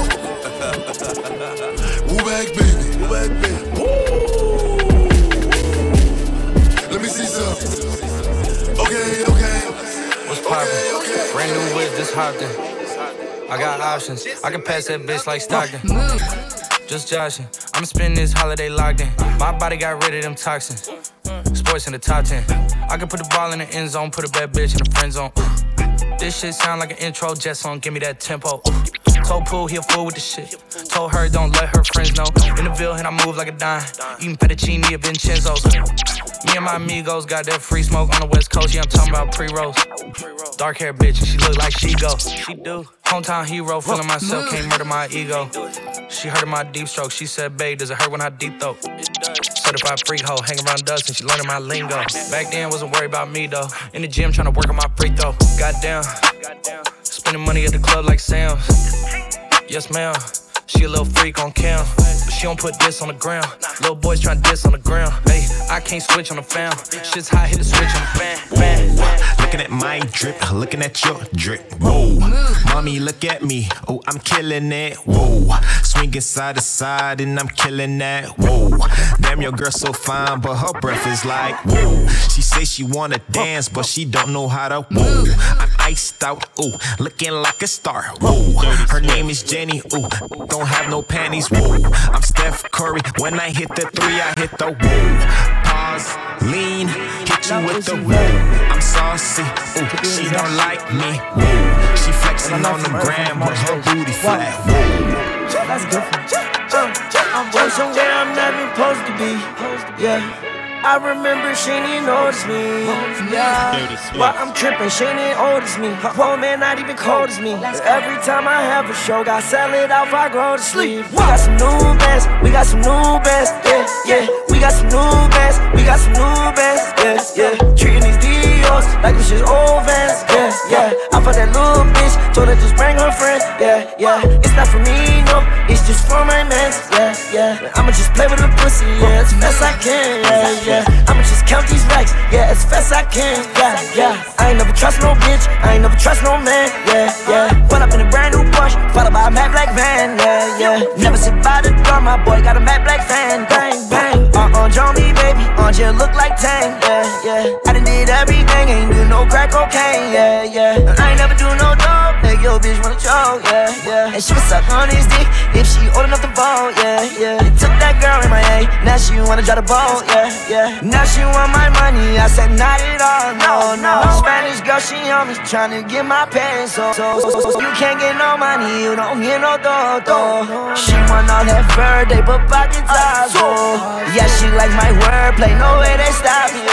Woo back, baby. Woo back, baby. Woo. Let me see some. Okay, okay. What's poppin'? Okay, okay. Brand new whip, this Hopton. I got options. I can pass that bitch like Stockton. Just joshing. I'ma spend this holiday locked in. My body got rid of them toxins. Sports in the top ten. I can put the ball in the end zone, put a bad bitch in the friend zone. This shit sound like an intro jet song, give me that tempo. Told Pooh he a fool with the shit. Told her don't let her friends know. In the Ville and I move like a dime. Eating fettuccine at Vincenzo's. Me and my amigos got that free smoke on the West Coast. Yeah, I'm talking about pre-rolls. Dark hair bitch and she look like she go. She do. Hometown hero, feeling myself, can't murder my ego. She heard of my deep stroke. She said, babe, does it hurt when I deep throat? So certified freak hoe. Hang around us and she learning my lingo. Back then, wasn't worried about me though. In the gym, trying to work on my free throw. Goddamn. Spending money at the club like Sam's. Yes, ma'am. She a little freak on cam, but she don't put this on the ground. Little boys tryna diss on the ground. Hey, I can't switch on the fam. Shit's hot, hit the switch on the fan. fan. Looking at my drip, looking at your drip. Whoa, mommy, look at me. Oh, I'm killing it. Whoa, swinging side to side and I'm killing that. Whoa, damn, your girl so fine, but her breath is like whoa. She say she wanna dance, but she don't know how to. Whoa, I'm iced out. Ooh, looking like a star. Whoa, her name is Jenny. Ooh, don't have no panties. Whoa, I'm Steph Curry. When I hit the three, I hit the whoa. Pause, lean, hit you with the whoa. I'm saucy. Ooh, she don't like me. Whoa, she flexing on the gram with her booty flat. Whoa, that's different. I'm way somewhere I'm not supposed to be. Yeah. I remember she didn't notice me. Yeah, but I'm tripping, she didn't notice me. Poor man not even cold as me. Every time I have a show, got sell it out if I go to sleep. We got some new bands, we got some new bands, yeah, yeah. We got some new bands, we got some new bands, yeah, yeah. Treating these Dios like this is old Vans, yeah, yeah. I fucked that little bitch, told her just bring her friend, yeah, yeah. It's not for me, no, it's just for my mans, yeah, yeah. I'ma just play with the pussy, yeah, as fast I can, yeah, yeah. I'ma just count these racks, yeah, as fast I can, yeah, yeah. I ain't never trust no bitch, I ain't never trust no man, yeah, yeah. Pull up in a brand new Porsche, followed by a matte black van, yeah, yeah. Never sit by the door, my boy got a matte black fan, bang, bang. Uh-uh, Johnny, baby, on you look like Tang, yeah, yeah. I done did everything, ain't do no crack cocaine, yeah, yeah. I ain't never do no dope, make your bitch wanna choke, yeah, yeah. And she was suck on his dick if she old enough to vote, yeah, yeah. Took that girl in my A, now she wanna drive the boat, yeah, yeah. Now she want my money, I said not at all, no, no. Spanish girl, she on me, tryna get my pants, so, so, so, so, so you can't get no money, you don't get no dough, dough. She want all that fur, they put pockets out, oh. Yeah, she like my wordplay, no way they stop you.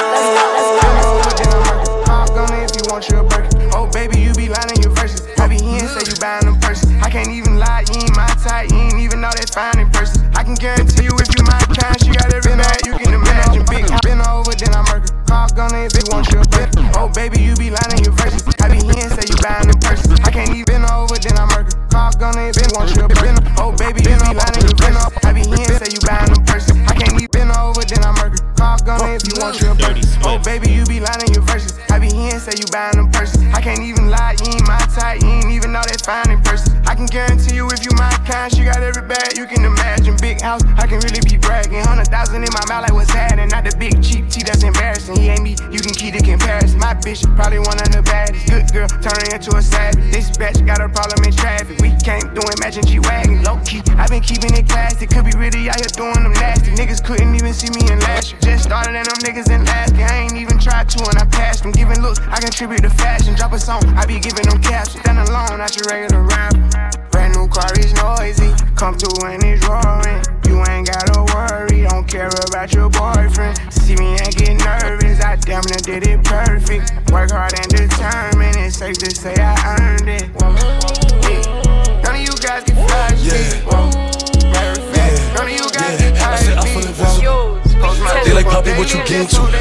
Hop on it if you want your burger. Oh baby, you be lying in your verses. I be here and say you buying them purses. I can't even lie, you ain't my type, you ain't even know that fine in person. I can guarantee you if you my kind, she got every bag you can imagine. Big been over, then I murder. Hop on it if you want your burger. Oh baby, you be lying in your verses. I be here and say you buying them purses. I can't even over, then I murder. Hop on it if you want your burger. Oh baby, you be lying in your verses. I be here and say you buying them purses. I can't even over, then I murder. Hop on it if you want your burger. Oh baby, you be lying in your verses. I be here and say you buying them purses. I can't even lie, you ain't my type, you ain't even know that fine in person. I can guarantee you if you my kind, she got every bag you can imagine. Big house, I can really be bragging. Hundred thousand in my mouth like what's happening. Not the big cheap tea that's embarrassing. He ain't me, you can keep the comparison. My bitch probably one of the baddest. Good girl, turning into a savage. This bitch got a problem in traffic. We came through in matching G-Wagon. Low key, I been keeping it classy. Could be really out here doing them nasty. Niggas couldn't even see me in last year. Just started and them niggas in last year. I ain't even tried to and I passed them. Giving looks, I contribute to fashion. Drop a song, I be giving them captions. Stand alone, not your regular rapper. Brand new car is noisy. Come through and it's roaring. You ain't gotta worry, don't care about your boyfriend. See me and get nervous, I damn near did it perfect. Work hard and determined, it's safe to say I earned it. Yeah. None of you guys can fly shit. Matter of fact, none of you guys can fly shit. I feel it. They like Poppy, what you get to?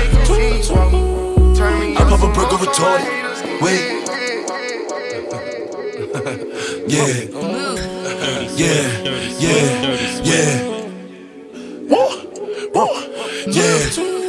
I pop a brick of retarded. Wait. Yeah. Yeah. Yeah. Yeah. Yeah.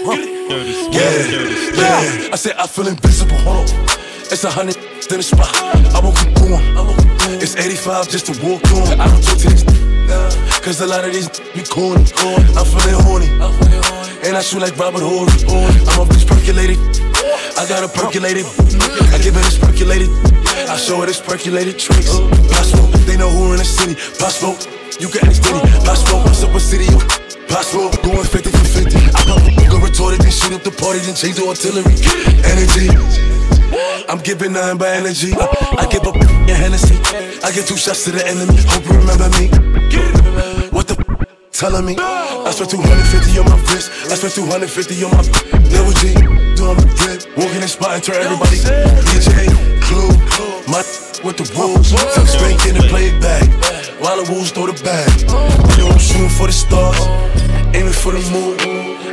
Yeah. Yeah. I said I feel invisible. Hold on. It's a hundred in the spot. I won't keep going. It's eighty-five just to walk on. I don't talk to these cause a lot of these be corny. I'm feeling horny. And I shoot like Robert Horry. I'm off this percolated. I got a percolated. I give it this percolated. I show her this percolated tricks. Possible, they know who in the city. Possible, you can ask Diddy. Possible, what's up with city? You possible, going fifty for fifty. I pop a go retorted, then shoot up the party, then change the artillery. Energy, I'm giving nine by energy. I, I give up your Hennessy. I get two shots to the enemy. Hope you remember me. What the f- telling me? I spent two hundred fifty on my wrist. I spent two hundred fifty on my double G. Doing my drip, walking in spot and turn everybody. D J, Clue, my with the rules. Tuck spanking and play it back. While the wolves throw the bag. You know I'm shooting for the stars, aiming for the moon.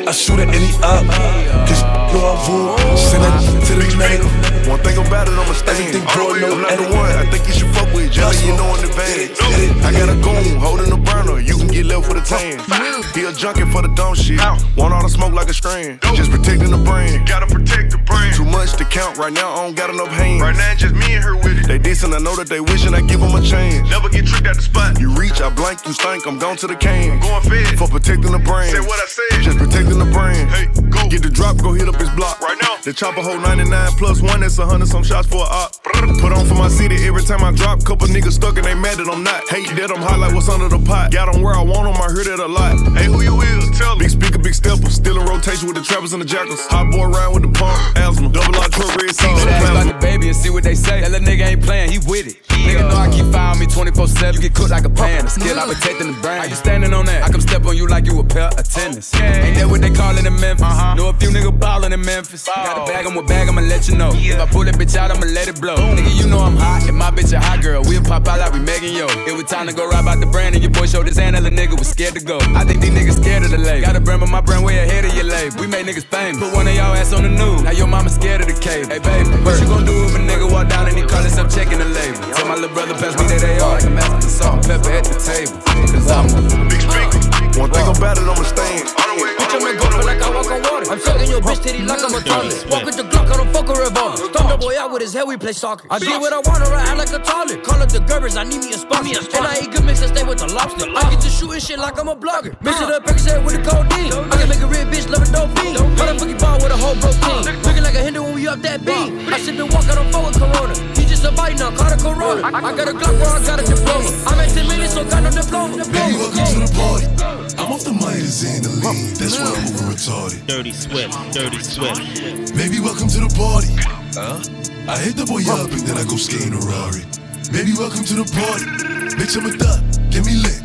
I shoot at any up. Cause you know I rule. Send that to the native. One thing about it, I'ma stay Everything in. broad, no I'm not the edit. one I think you should fuck with. Jelly, you know in advance. I got a goon holding the burner. You can get left with a tan. He a junkie for the dumb shit. Want all the smoke like a strand. Just protecting the brand. Gotta protect the brand. Too much to count right now. I don't got enough hands. Right now, just me and her with it. They decent. I know that they wishing I give them a chance. Never get tricked out the spot. You reach, I blank, you stink. I'm gone to the can. Going fed for protecting the brand. Say what I said. Just protecting the brand. Hey, go get the drop. Go hit up his block right now. The chopper hold ninety-nine plus one. That's a hundred some shots for a op. Put on for my city every time I drop. Couple niggas stuck and they mad that I'm not. Hate that I'm hot like what's under the pot. Got them where I want them. I heard it a lot. Hey, who you is? Tell me. Big speaker, big stepper. Still in rotation with the trappers and the jackals. Hot boy round with the pump. Asthma. Double R truck, red sauce. Ask about the baby and see what they say. That little nigga ain't playing, he with it. Nigga know I keep fire on me twenty-four seven. You get cooked like a pan. The skill, I protecting the brand. How you standing on that? I come step on you like you a pair of tennis. Ain't that what they call it in Memphis? Uh-huh. Know a few niggas ballin' in Memphis. Ball. Got a bag, I'm a bag, I'ma let you know. Yeah. If I pull that bitch out, I'ma let it blow. Boom. Nigga, you know I'm hot. If my bitch a hot girl, we'll pop out like we Megan Yo. It was time to go ride out the brand, and your boy showed his hand, and the nigga was scared to go. I think these niggas scared of the label. Got a brand, but my brand way ahead of your label. We make niggas famous. Put one of y'all ass on the news. Now your mama scared of the cave. Hey baby, what you gon' do if a nigga walk down and he call himself checking the label? Tell my little brother pass me that A R like a master of salt and pepper at the table. Cause I'm a big speaker. One thing about it, I'ma stay in. Bitch, I'm a go like I walk on water. I'm sucking your bitch titty like I'm a toilet. Walk with the Glock, I don't fuck a revolver. Stomp the boy out with his head, we play soccer. I do what I want, or I act like a toilet. Call up the Gerbers, I need me a sponsor. And I eat good mix and stay with the lobster. I get to shooting shit like I'm a blogger. Mix it up, Percocet with the codeine. I can make a real bitch love a dope fiend. Motherfucking ball with a whole broke team. Looking like a Hindu when we up that beam. I sip and walk, I don't fuck with Corona. He just a bite now, caught a Corona. I got a Glock where I got a diploma. I'm at ten minutes, so got no diploma. Baby, welcome to the party. I'm off the Midas and the lean. That's why I'm over retarded. Dirty Swift, Dirty Swift. Baby, welcome to the party. Huh? I hit the boy up and then I go skating a Rari. Baby, welcome to the party. Bitch, I'm a thot. Get me lit.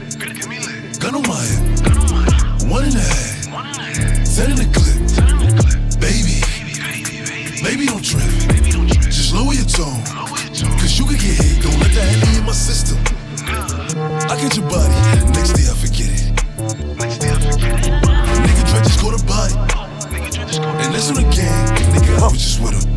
Gun on my hip. One and a half. Set in the clip. Baby. Baby, don't trip. Just lower your tone. Cause you can get hit. Don't let that hit in my system. I get your body. Next day I forget it. Next day I forget it. Nigga Dre just caught a body. And that's on the gang. Nigga, I was just with him.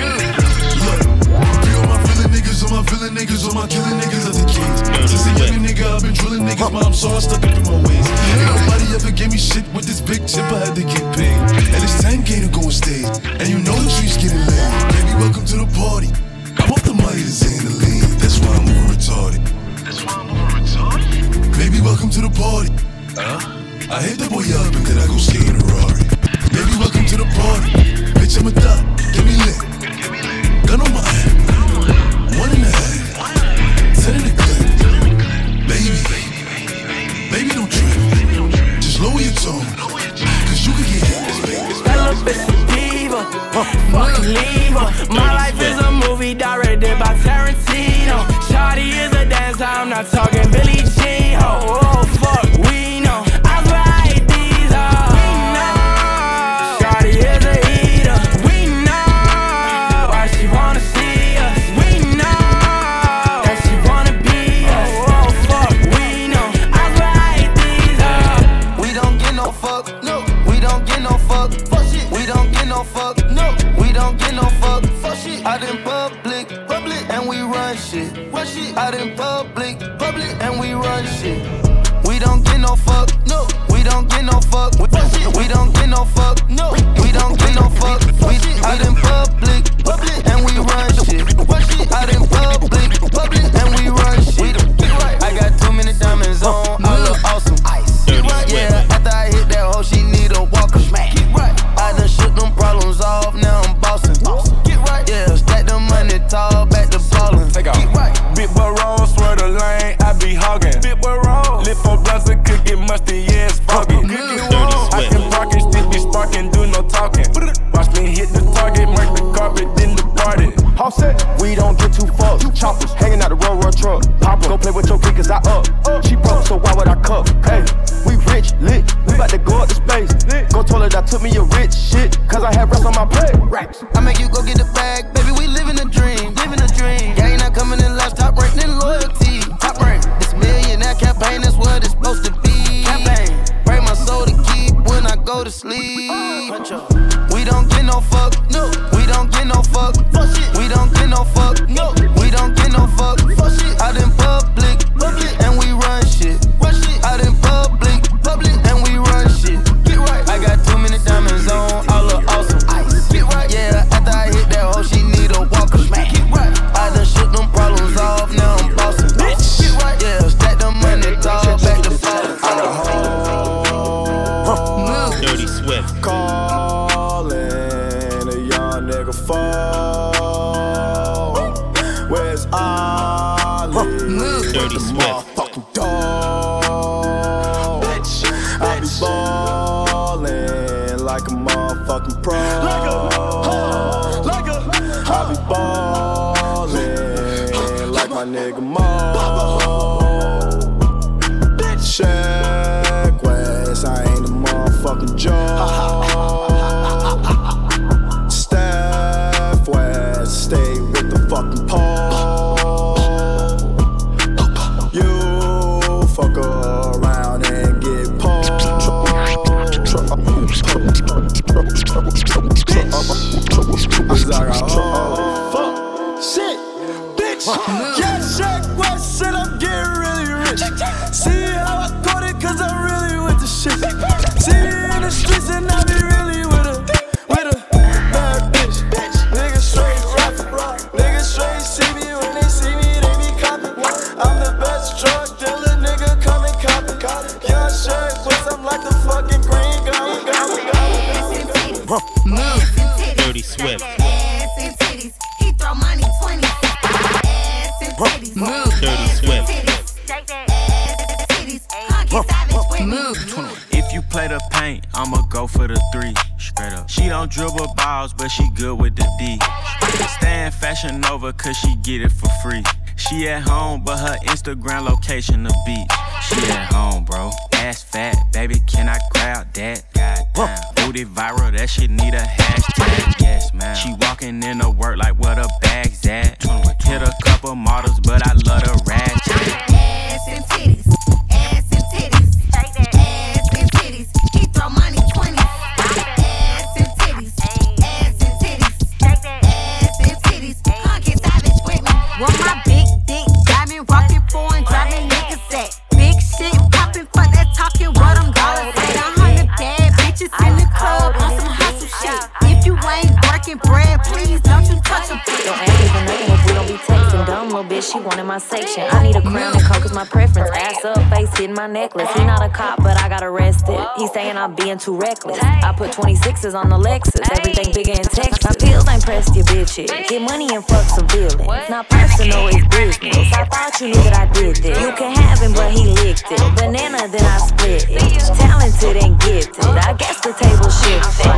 Look, be all my villain niggas, all my villain niggas, all my killing niggas are the kings. Since a young nigga, I've been drilling niggas, but I'm so I'm stuck up in my ways. Ain't nobody ever gave me shit with this big chip, I had to get paid. And it's ten K to go on stage, and you know the trees getting laid. Baby, welcome to the party. I'm off the Midas and the lean. That's why I'm over retarded. That's why I'm over retarded. Baby, welcome to the party. Huh? I hit the boy up and then I go skate in a Rari. Baby, welcome to the party. Bitch, I'm a thot. Get me lit. Gun on my head. One and a half. Set in the clip. Baby. Baby, don't trip. Just lower your tone. Cause you can get hit. That little bitch a diva. Fucking leave her. My life is a movie directed by Tarantino. Shawty is a dancer. I'm not talking Billie Jean. Oh, oh, fuck. We know. I swear I hate these hoes. We know. Shawty is a eater. We know why she wanna see us. We know that she wanna be us. Oh, oh, fuck. We know. I swear I hate these hoes. We don't get no fuck. No. We don't get no fuck. Fuck shit. We don't get no fuck. No. We don't get no fuck. Fuck shit. Out in public. Public. And we run shit. Run shit. Out in public. Public. And we run shit. We don't get no fuck. No. We don't get no fuck. Fuck shit. We don't get no fuck. No. We don't get no fuck. We out in public. Public. And we run shit. Run shit. Out in public. Public. And we run shit. I got too many diamonds on. I look awesome. Ice. Yeah. After I hit that hoe, she need a walker. I done shook them problems off. Now I'm bossing. Get right. Yeah. Stack the money tall. Back to ballin'. Take off. Get right. Big boy roll, swear the lane, I be hogging. Big boy roll, lift for blunts and cook it musty, yeah, it's foggy. I can park and still be sparking, do no talking. Watch me hit the target, mark the carpet, then the party. All set, we don't get too fucked. Choppers hanging out the road, road truck. Pop go play with your kid, cause I up. She broke, so why would I cuff? Hey, we rich, lit. We bout to go up to space. Go toilet, I took me a rich shit, cause I had rest on my plate. Racks. I make you go get the bag, baby, we living a dream, living a dream. Gang not coming in last, top rank, then loyalty. Top rank, this millionaire campaign, that's what it's supposed to be. Campaign, break my soul to keep when I go to sleep. We don't get no fuck, no. We don't get no fuck, fuck shit. We don't get no fuck, no. We don't get no fuck, fuck shit. Out in public, public, and we run shit. Run shit. Out in public, public, and we run shit. Get right. I got too many diamonds on, all look awesome. Ice. Get right. Yeah, after I hit that hoe, she need a walker. Get right. I done shook them problems off, now I'm bossing. Bitch. Get right. Yeah, stack the money, dog, back to fall. I got home. Dirty Swift. Calling a young nigga fall. Where's Ollie? Dirty Swift. Motherfucking dog. Bitch. I be ballin' like a motherfucking pro. Like a, like a, I be ballin' like my nigga Mo. Check West, I ain't a motherfucking joke. Steph West, stay with the fucking pole. You fuck around and get pulled. Fuck, shit, bitch. Yeah, Check West, said I'm getting really rich. See how I caught it, cause I'm really with the shit. See me in the streets and I be really with a, with a bad bitch. Niggas straight rapping, niggas straight see me when they see me, they be copping. I'm the best drug dealer, nigga, come and cop it. Young Check West, I'm like the fucking green goblin, goblin, goblin. Dirty Swift. Ass and titties, he throw money twenty. Ass and titties, Dirty Swift. If you play the paint, I'ma go for the three. Straight up. She don't dribble balls, but she good with the D. Stay in Fashion Nova, cause she get it for free. She at home, but her Instagram location the beach. She at home, bro. Ass fat, baby, can I grab that? Goddamn. Booty viral, that shit need a hashtag. Yes, man. She walking in to work like where the bag's at. Hit a couple models, but I love the ratchet. Ass and titties, ass and titties, ass and titties. He throw money twenty. Ass and titties, ass and titties, ass and titties. Come get savage with me. Want my big dick, diamond rockin' foreign, driving niggas set. Big shit poppin', fuck that talking, what I'm dollars at. A hundred bad bitches in the club on some hustle shit. If you ain't working bread, please don't you touch a bitch. Don't ask me for nothing if we don't be texting. Dumb little bitch, she wanted my section. I need a crown and coke is my preference. Ass up, face hitting my necklace. He not a cop, but I got arrested. He saying I'm being too reckless. I put twenty-sixes on the Lexus. Everything bigger in Texas. My pills ain't pressed your bitches. Get money and fuck some feelings. Not personal, it's business. I thought you knew that I did this. You can have him, but he licked it. Banana, then I split it. Talented and gifted. I guess the table shifted.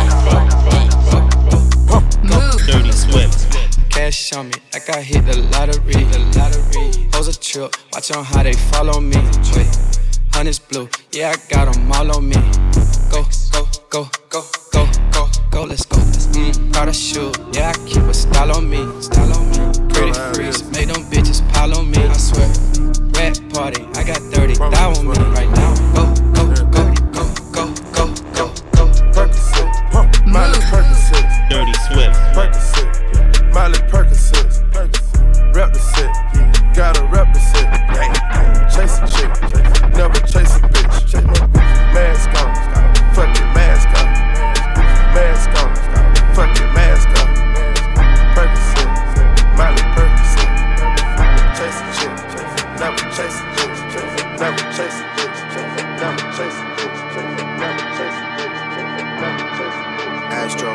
Dirty Swift. Cash on me, like I hit the lottery, the lottery. Hoes a trip, watch on how they follow me. Wait, honey's blue, yeah, I got them all on me. Go, go, go, go, go, go, go, let's go. Mm, Prada shoe, yeah, I keep a style on me, style on me. Pretty freeze, make them bitches pile on me, I swear. Red party, I got thirty thou on me right now. Go, go, go, go, go, go, go, go. Percocet, Miley Percocet. Dirty Swift. Percocet, Miley Percocet. Rep the set, gotta rep the set. Chase a chick, never chase a bitch. Mask on, fuck it, mask on. Mask on, fuck it, mask on. Percocet, Miley Percocet. Chase a chick, never chase a bitch. Never chase a bitch, never chase a bitch. Never chase a bitch, never chase a bitch. Astro.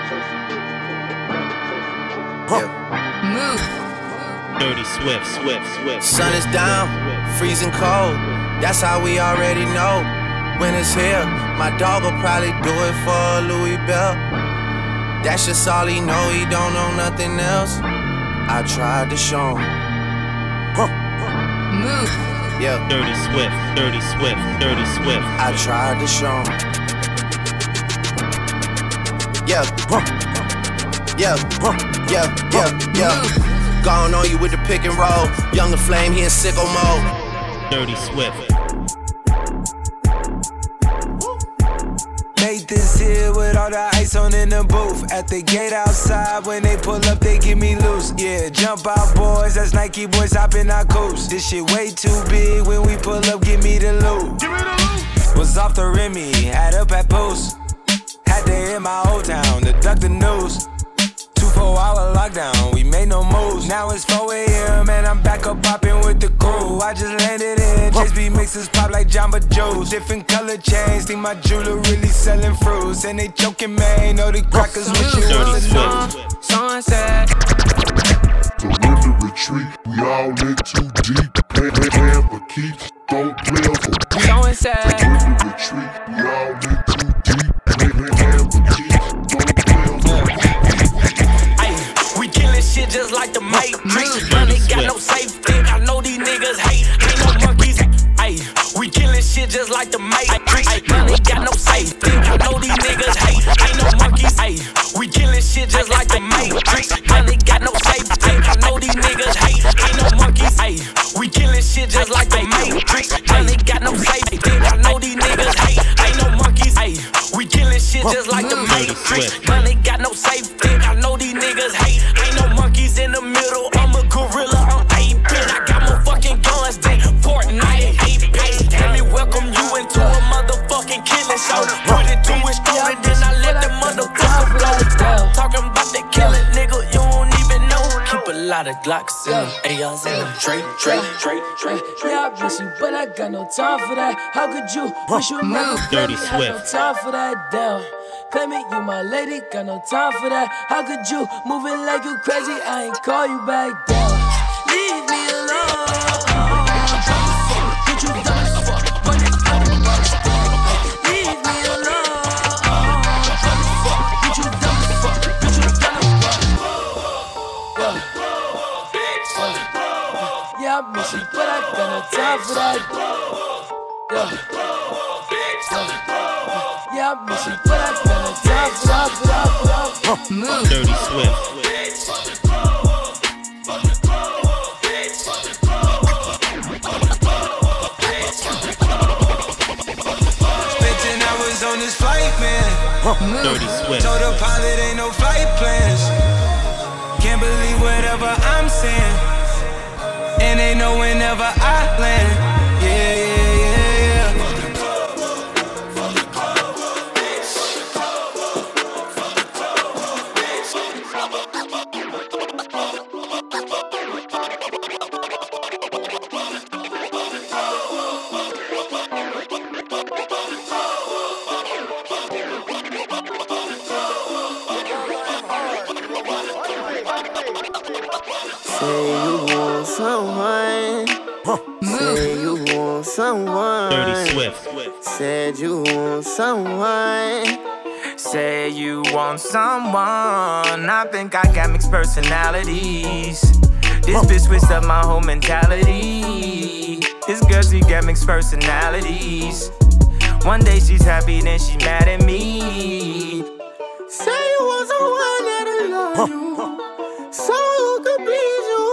Yeah. Move. Dirty Swift, Swift, Swift. Sun is down, freezing cold. That's how we already know. When it's here, my dog will probably do it for Louis Bell. That's just all he know, he don't know nothing else. I tried to show him. Move. Yeah. Dirty Swift, Dirty Swift, Dirty Swift. I tried to show him. Yeah. Yeah. Yeah. Yeah. Yeah. Gone on you with the pick and roll. Younger Flame, he in sicko mode. Dirty Swift. Made all the ice on in the booth. At the gate outside, when they pull up, they give me loose. Yeah, jump out, boys. That's Nike boys hopping our coast. This shit way too big. When we pull up, give me the loot. Give me the loot. Was off the Remy, had up at post. Had to hit my old town to duck the news. Two four hour lockdown, we made no moves. Now it's four a.m. and I'm back up popping with the crew. I just landed in, J S B mixes pop like Jamba Joe's. Different color chains, think my jeweler really selling fruits. And they joking, man, know the crackers wish it was a new. Sunset. Surrender, retreat, we all in too deep. Plan, plan, plan for keeps, don't play for keeps. Sunset. Surrender, retreat, we all in too deep. Plan, plan, plan for keeps, don't play for keeps. We killing shit just like the Matrix. Money got no safety. I know these niggas hate. Ain't no monkeys. Ay, we killing shit just like the Matrix. Ay, money got no safety. I know these niggas hate. Ain't no monkeys. Ay, we killing shit just like the Matrix. Money got no safety. I know these niggas hate. Ain't no monkeys. Ay, we killing shit just like the Matrix. Money got no safety. I know these niggas hate. Ain't no monkeys. Ay, we killing shit just like the Matrix. Money got no safety. I know these niggas hate. Ain't no monkeys in the middle. I'm a gorilla. I'm eight bit. I got more fucking guns than Fortnite and eight bit. Let me welcome you into a motherfucking killing show. Put it to his throat and then I let the motherfucker blow. Talking about the killing, nigga, you don't even know. Keep a lot of Glocks in them, A Rs in them. Drake, Drake, Drake, Drake. Yeah, I miss you, but I got no time for that. How could you wish you never play me? Got no time for that, damn. Claim it, you my lady, got no time for that. How could you move it like you crazy? I ain't call you back down. Leave me alone. Get you dumb as fuck, but it's out of my stuff. Leave me alone. Get you dumb as fuck, get you dumb as fuck. Yeah, yeah, I miss you, but I got no time for that. Yeah, yeah, yeah, I miss you, but I got no time for that. For that, for that. Move. Dirty Swift. On this flight, man. Dirty Swift. Told the pilot ain't no flight plans. Can't believe whatever I'm saying. And they know whenever I land. Yeah, yeah, yeah, yeah. Say you want someone. Say you want someone. Dirty Swift. Said you want someone. Say you want someone. I think I got mixed personalities. This bitch switched up my whole mentality. This girl, she got mixed personalities. One day she's happy, then she mad at me. Say you want someone that'll love you. Someone who can please you.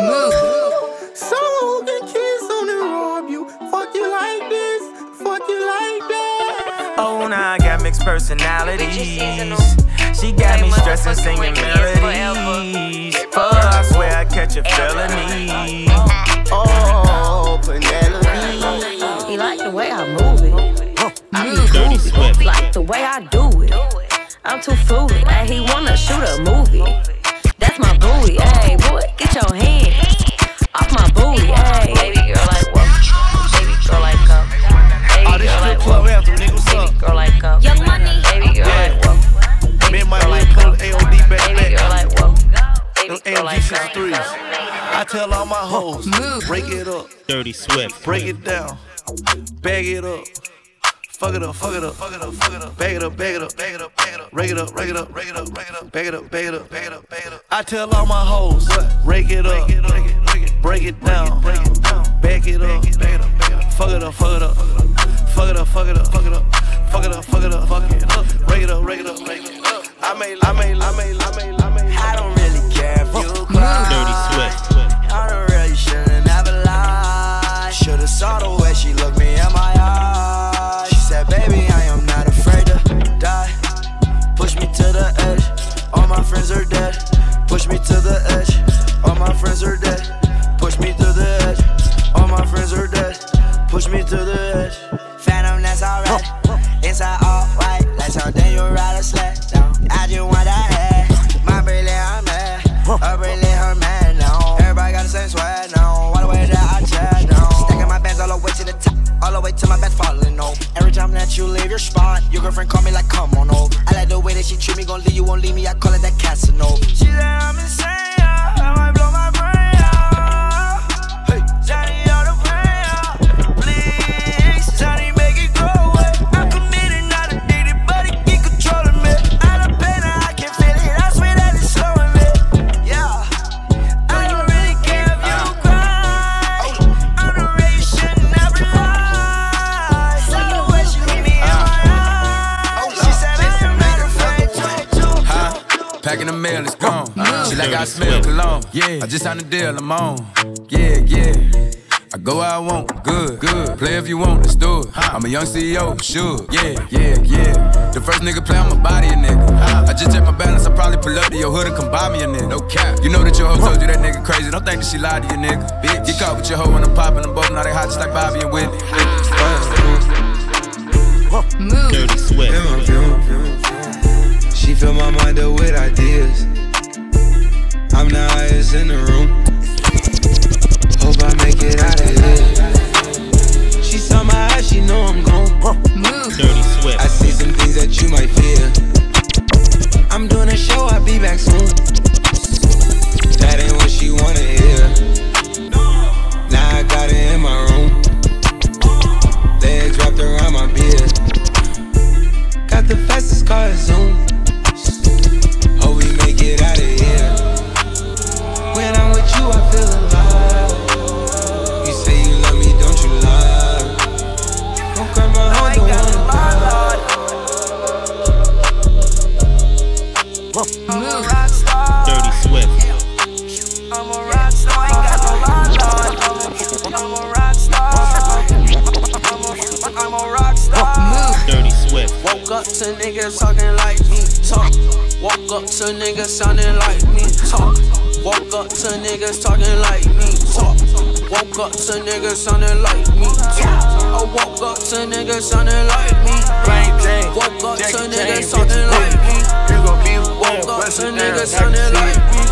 Someone who can kiss on and rob you. Fuck you like this, fuck you like that. Oh, now I got mixed personalities. She got me stressing, singing melodies. Fuck, I swear I catch a felony. Oh, Penelope. He like the way I move it. Move. Dirty Swift. Like the way I do it. I'm too foolish. Ay, he wanna shoot a movie. That's my booty. Hey, boy, get your hands off my booty. Hey, baby girl, like what? Baby girl, like up. Baby girl, like what? Baby girl, like up. Young money. Baby girl, like what? Baby girl, like up. Baby girl, like what? Baby girl, like up. I tell all my hoes, break it up. Dirty Swift. Break it down. Bag it up. Fuck it up, fuck it up, fuck it up, fuck it up, bag it up, bag it up, bag it up, bag it up, rake it up, rake it up, rake it up, rake it up, bag it up, bag it up, bag it up, bag it up. I tell all my hoes, rake it up, break it down, bag it up, fuck it up, fuck it up, fuck it up, fuck it up, fuck it up, fuck it up, fuck it up, fuck it up, rake it up, rake it up, rake it up. I made, I made, I made, I made, I made. I don't really care if you cry. Dirty Swift. I don't really shouldn't ever lie. Should've saw the way she looked me in my eyes. She said, baby, I am not afraid to die. me to the edge. All my friends are dead. Push me to the edge. All my friends are dead. Push me to the edge. Phantom, that's alright. Inside all white, like something you ride a sled down. I just want that head. My brilliant, I'm mad. A brilliant, her man now. Everybody got the same swag now. All the way that I chat now. Stacking my bands all the way to the top. All the way to my best falling over. Every time that you leave your spot, your girlfriend call me like, come on over. I like the way that she treat me, gon' leave you, won't leave me. I call it that Casanova. She said I'm insane, yeah. I might blow my brain out. Hey, Johnny, all the pain out. Please, Johnny, make it go away. I'm committed, not addicted, but it keep controlling me. Out of pain, I can feel it. I swear that it's slowing me. Yeah, I don't really care if you cry. I'm the way you should never lie. So the way she leave me in my eyes. She said I'm not afraid to. Huh? Packing the mail, it's gone. She like I smell cologne. Yeah, I just signed a deal, I'm on. Yeah, yeah. I go where I want, good, good. Play if you want, let's do it. I'm a young C E O, sure. Yeah, yeah, yeah. The first nigga play on my body, a nigga. I just check my balance, I probably pull up to your hood and come buy me a nigga. No cap. You know that your hoe told you that nigga crazy. Don't think that she lied to you, nigga. Bitch, get caught with your hoe when I'm popping them both. Now they hot just like Bobby and Whitney. Dirty Swift. She fill my mind up with ideas. I'm the highest in the room. Hope I make it out of here. She saw my eyes, she know I'm gone. Dirty Swift. I see some things that you might fear. I'm doing a show, I'll be back soon. That ain't what she wanna hear. Now I got it in my room. Legs wrapped around my beard. Got the fastest car, Zoom. Hope we make it out of here. When I'm with you, I feel alive. You say you love me, don't you lie? Don't cry my heart, don't I'm a rock star. Dirty Swift. I'm a rock star. I ain't got no lie. I'm a rock star. I'm a, I'm a rock star. Dirty Swift. Woke up to niggas talking like me, talk. Woke up to niggas sounding like me, talk. Woke up to niggas talking like me, talk. Woke up to niggas sounding like me, talk. I woke up to niggas sounding like me. Woke up to niggas talking like me. Woke up to niggas sounding like me.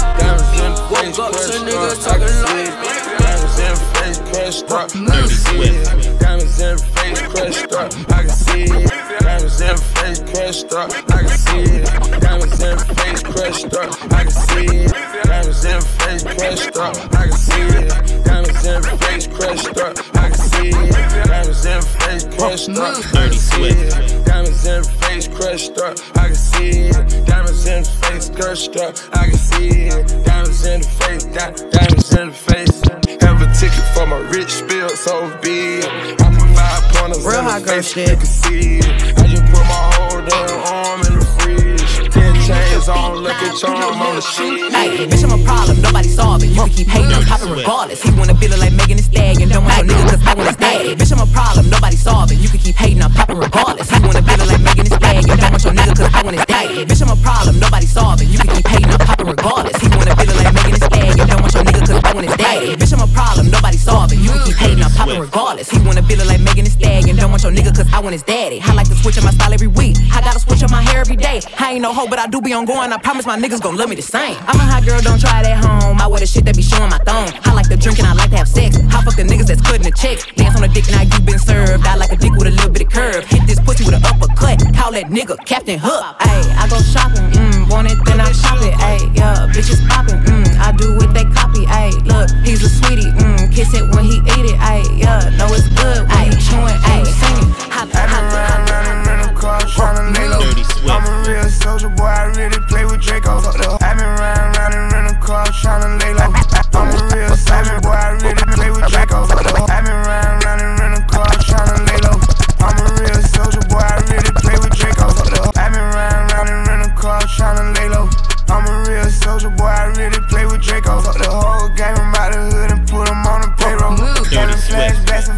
Woke up to niggas talking like me. Diamonds in face crushed up, I can see it. Diamonds in face crushed up, I can see it. Diamonds in face crushed up, I can see it. Diamonds in face crushed up, I can see it. Diamonds in face crushed up, I can see it. Diamonds in face crushed up, I can see it. Diamonds in face crushed up, I can see it. Diamonds in face crushed up, I can see it. Diamonds in face crushed up, I can see it. Diamonds in the face, diamonds in the face. Have a ticket for my rich spill so big. I put five pointers Real in hot the girl face, shit. you can see it. I just put my whole damn arm in the fridge. Ten chains on, look at charm on the sheet. Hey, bitch, I'm a problem, nobody solve it. You can keep hating, I'm popping regardless. He wanna feel it like Megan Thee Stallion. Don't want your nigga cause I want his daddy. Bitch, I'm a problem, nobody solve it. You can keep hating, I'm popping regardless. He wanna feel it like Megan Thee Stallion. Don't want your nigga cause I want his daddy. Bitch, I'm a problem, nobody solve it. You can keep hating, I'm popping regardless. He wanna feel it like Megan Thee Stallion. Don't want your nigga cause I want his daddy. Bitch, I'm a problem, nobody solve it. You can keep hating, I'm popping regardless. He wanna feel it like Megan Thee Stallion. Don't want your nigga cause I want his daddy. I like to switch up my style every week. I gotta switch up my hair every day. I ain't no hoe, but I do be on going. I promise my niggas gon' love me the same. I'm a hot girl, don't try it at home. I wear the shit that be showing my thong. I like to drink and I like to have sex. I fuck the niggas that's cutting the checks. Dance on the dick, now you been served. I like a dick with a little bit of curve. Hit this pussy with an uppercut. Call that nigga Captain Hook. Ayy, I go shopping, mmm, want it, then I shop it. Ayy, yeah, bitches popping, mmm, I do what they copy. Ayy, look, he's a sweetie, mmm, kiss it when he eat it. Ayy, yeah, know it's good. Ayy, chewing, ayy, singing. Hop, hop, hop, I'm a real soldier boy, I really play with Draco. I've been riding around in rental cars tryna lay low. I'm a real soldier boy, I really play with Draco. I've been riding around in rental cars tryna lay low. I'm a real soldier boy, I really play with Draco. I've been riding around in rental cars tryna lay low. I'm a real soldier boy, I really play with Draco. The whole game, I'm out the hood and put him on the payroll. Got a flashbacks and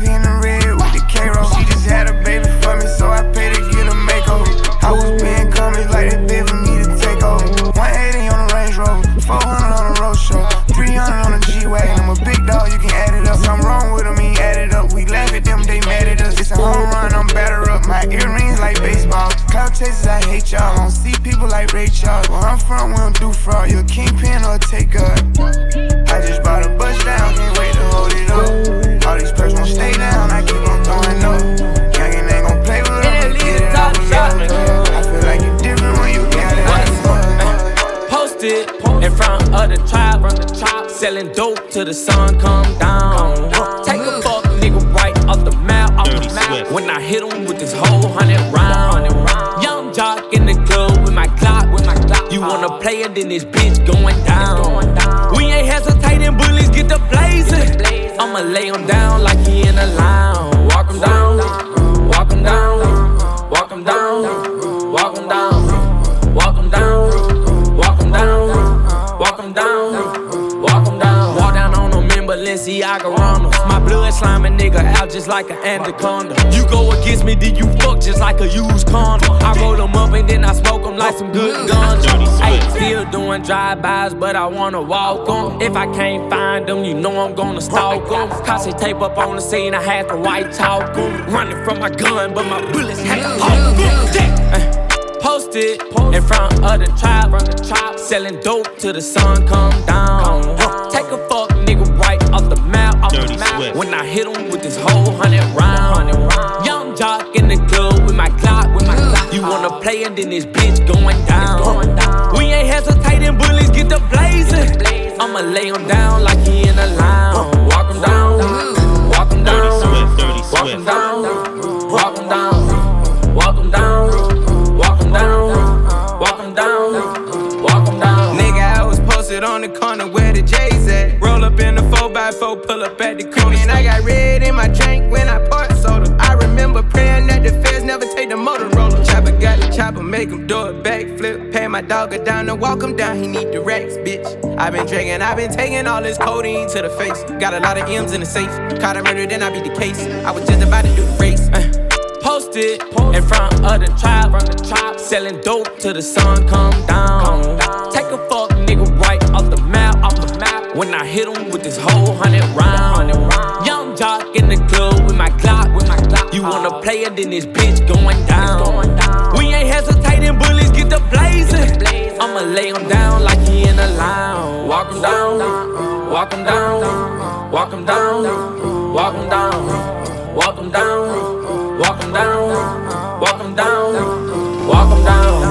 Selling dope till the sun come down. Take a fuck nigga right off the map, off the map. When I hit him with this whole hundred round. Young jock in the club with my clock, with my clock. You wanna play it, then this bitch going down. We ain't hesitating, bullies get the blazing. I'ma lay him down like he in a lounge. Walk him down, walk him down, walk him down, walk him down, walk him down, walk him down, walk him down, walk him down. Walk down on them in Balenciaga Ronalds. My blood sliming nigga out just like an anaconda. You go against me, then you fuck just like a used condom. I roll them up and then I smoke them like some good guns. Ay, still doing drive-bys, but I wanna walk them. If I can't find them, you know I'm gonna stalk them. Cause tape up on the scene, I had to white talk them. Running from my gun, but my bullets had to pop them. Posted in front of the trap, selling dope till the sun come down. Take a fuck nigga right off the map, off the map. When I hit him with this whole hundred round. Young jock in the club with my clock, with my clock. You wanna play and then this bitch going down. We ain't hesitating, bullies get the blazing. I'ma lay him down like he in a lounge. Walk him down, walk him down, walk him down, walk him down, walk him down. Walk him down, walk him down, walk him down. Nigga, I was posted on the corner where the J's at. Roll up in the four by four, pull up at the corner. And I got red in my drink when I poured soda. I remember praying that the feds never take the Motorola. Chopper got the chopper, make him do a backflip. Pay my dog a down and walk him down, he need the racks, bitch. I been drinking, I been taking all this codeine to the face. Got a lot of M's in the safe. Caught a murder, then I beat the case. I was just about to do the race. Uh. Posted in front of the trap, selling dope till the sun come down. Take a fuck nigga right off the map, off the map. When I hit him with this whole hundred round. Young jock in the club with my clock, with my clock. You wanna play it, then this bitch going down. We ain't hesitating, bullies get the blazing. I'ma lay him down like he in a lounge. Walk him down, walk him down, walk him down, walk him down, walk him down. Walk him down, walk him down, walk him down.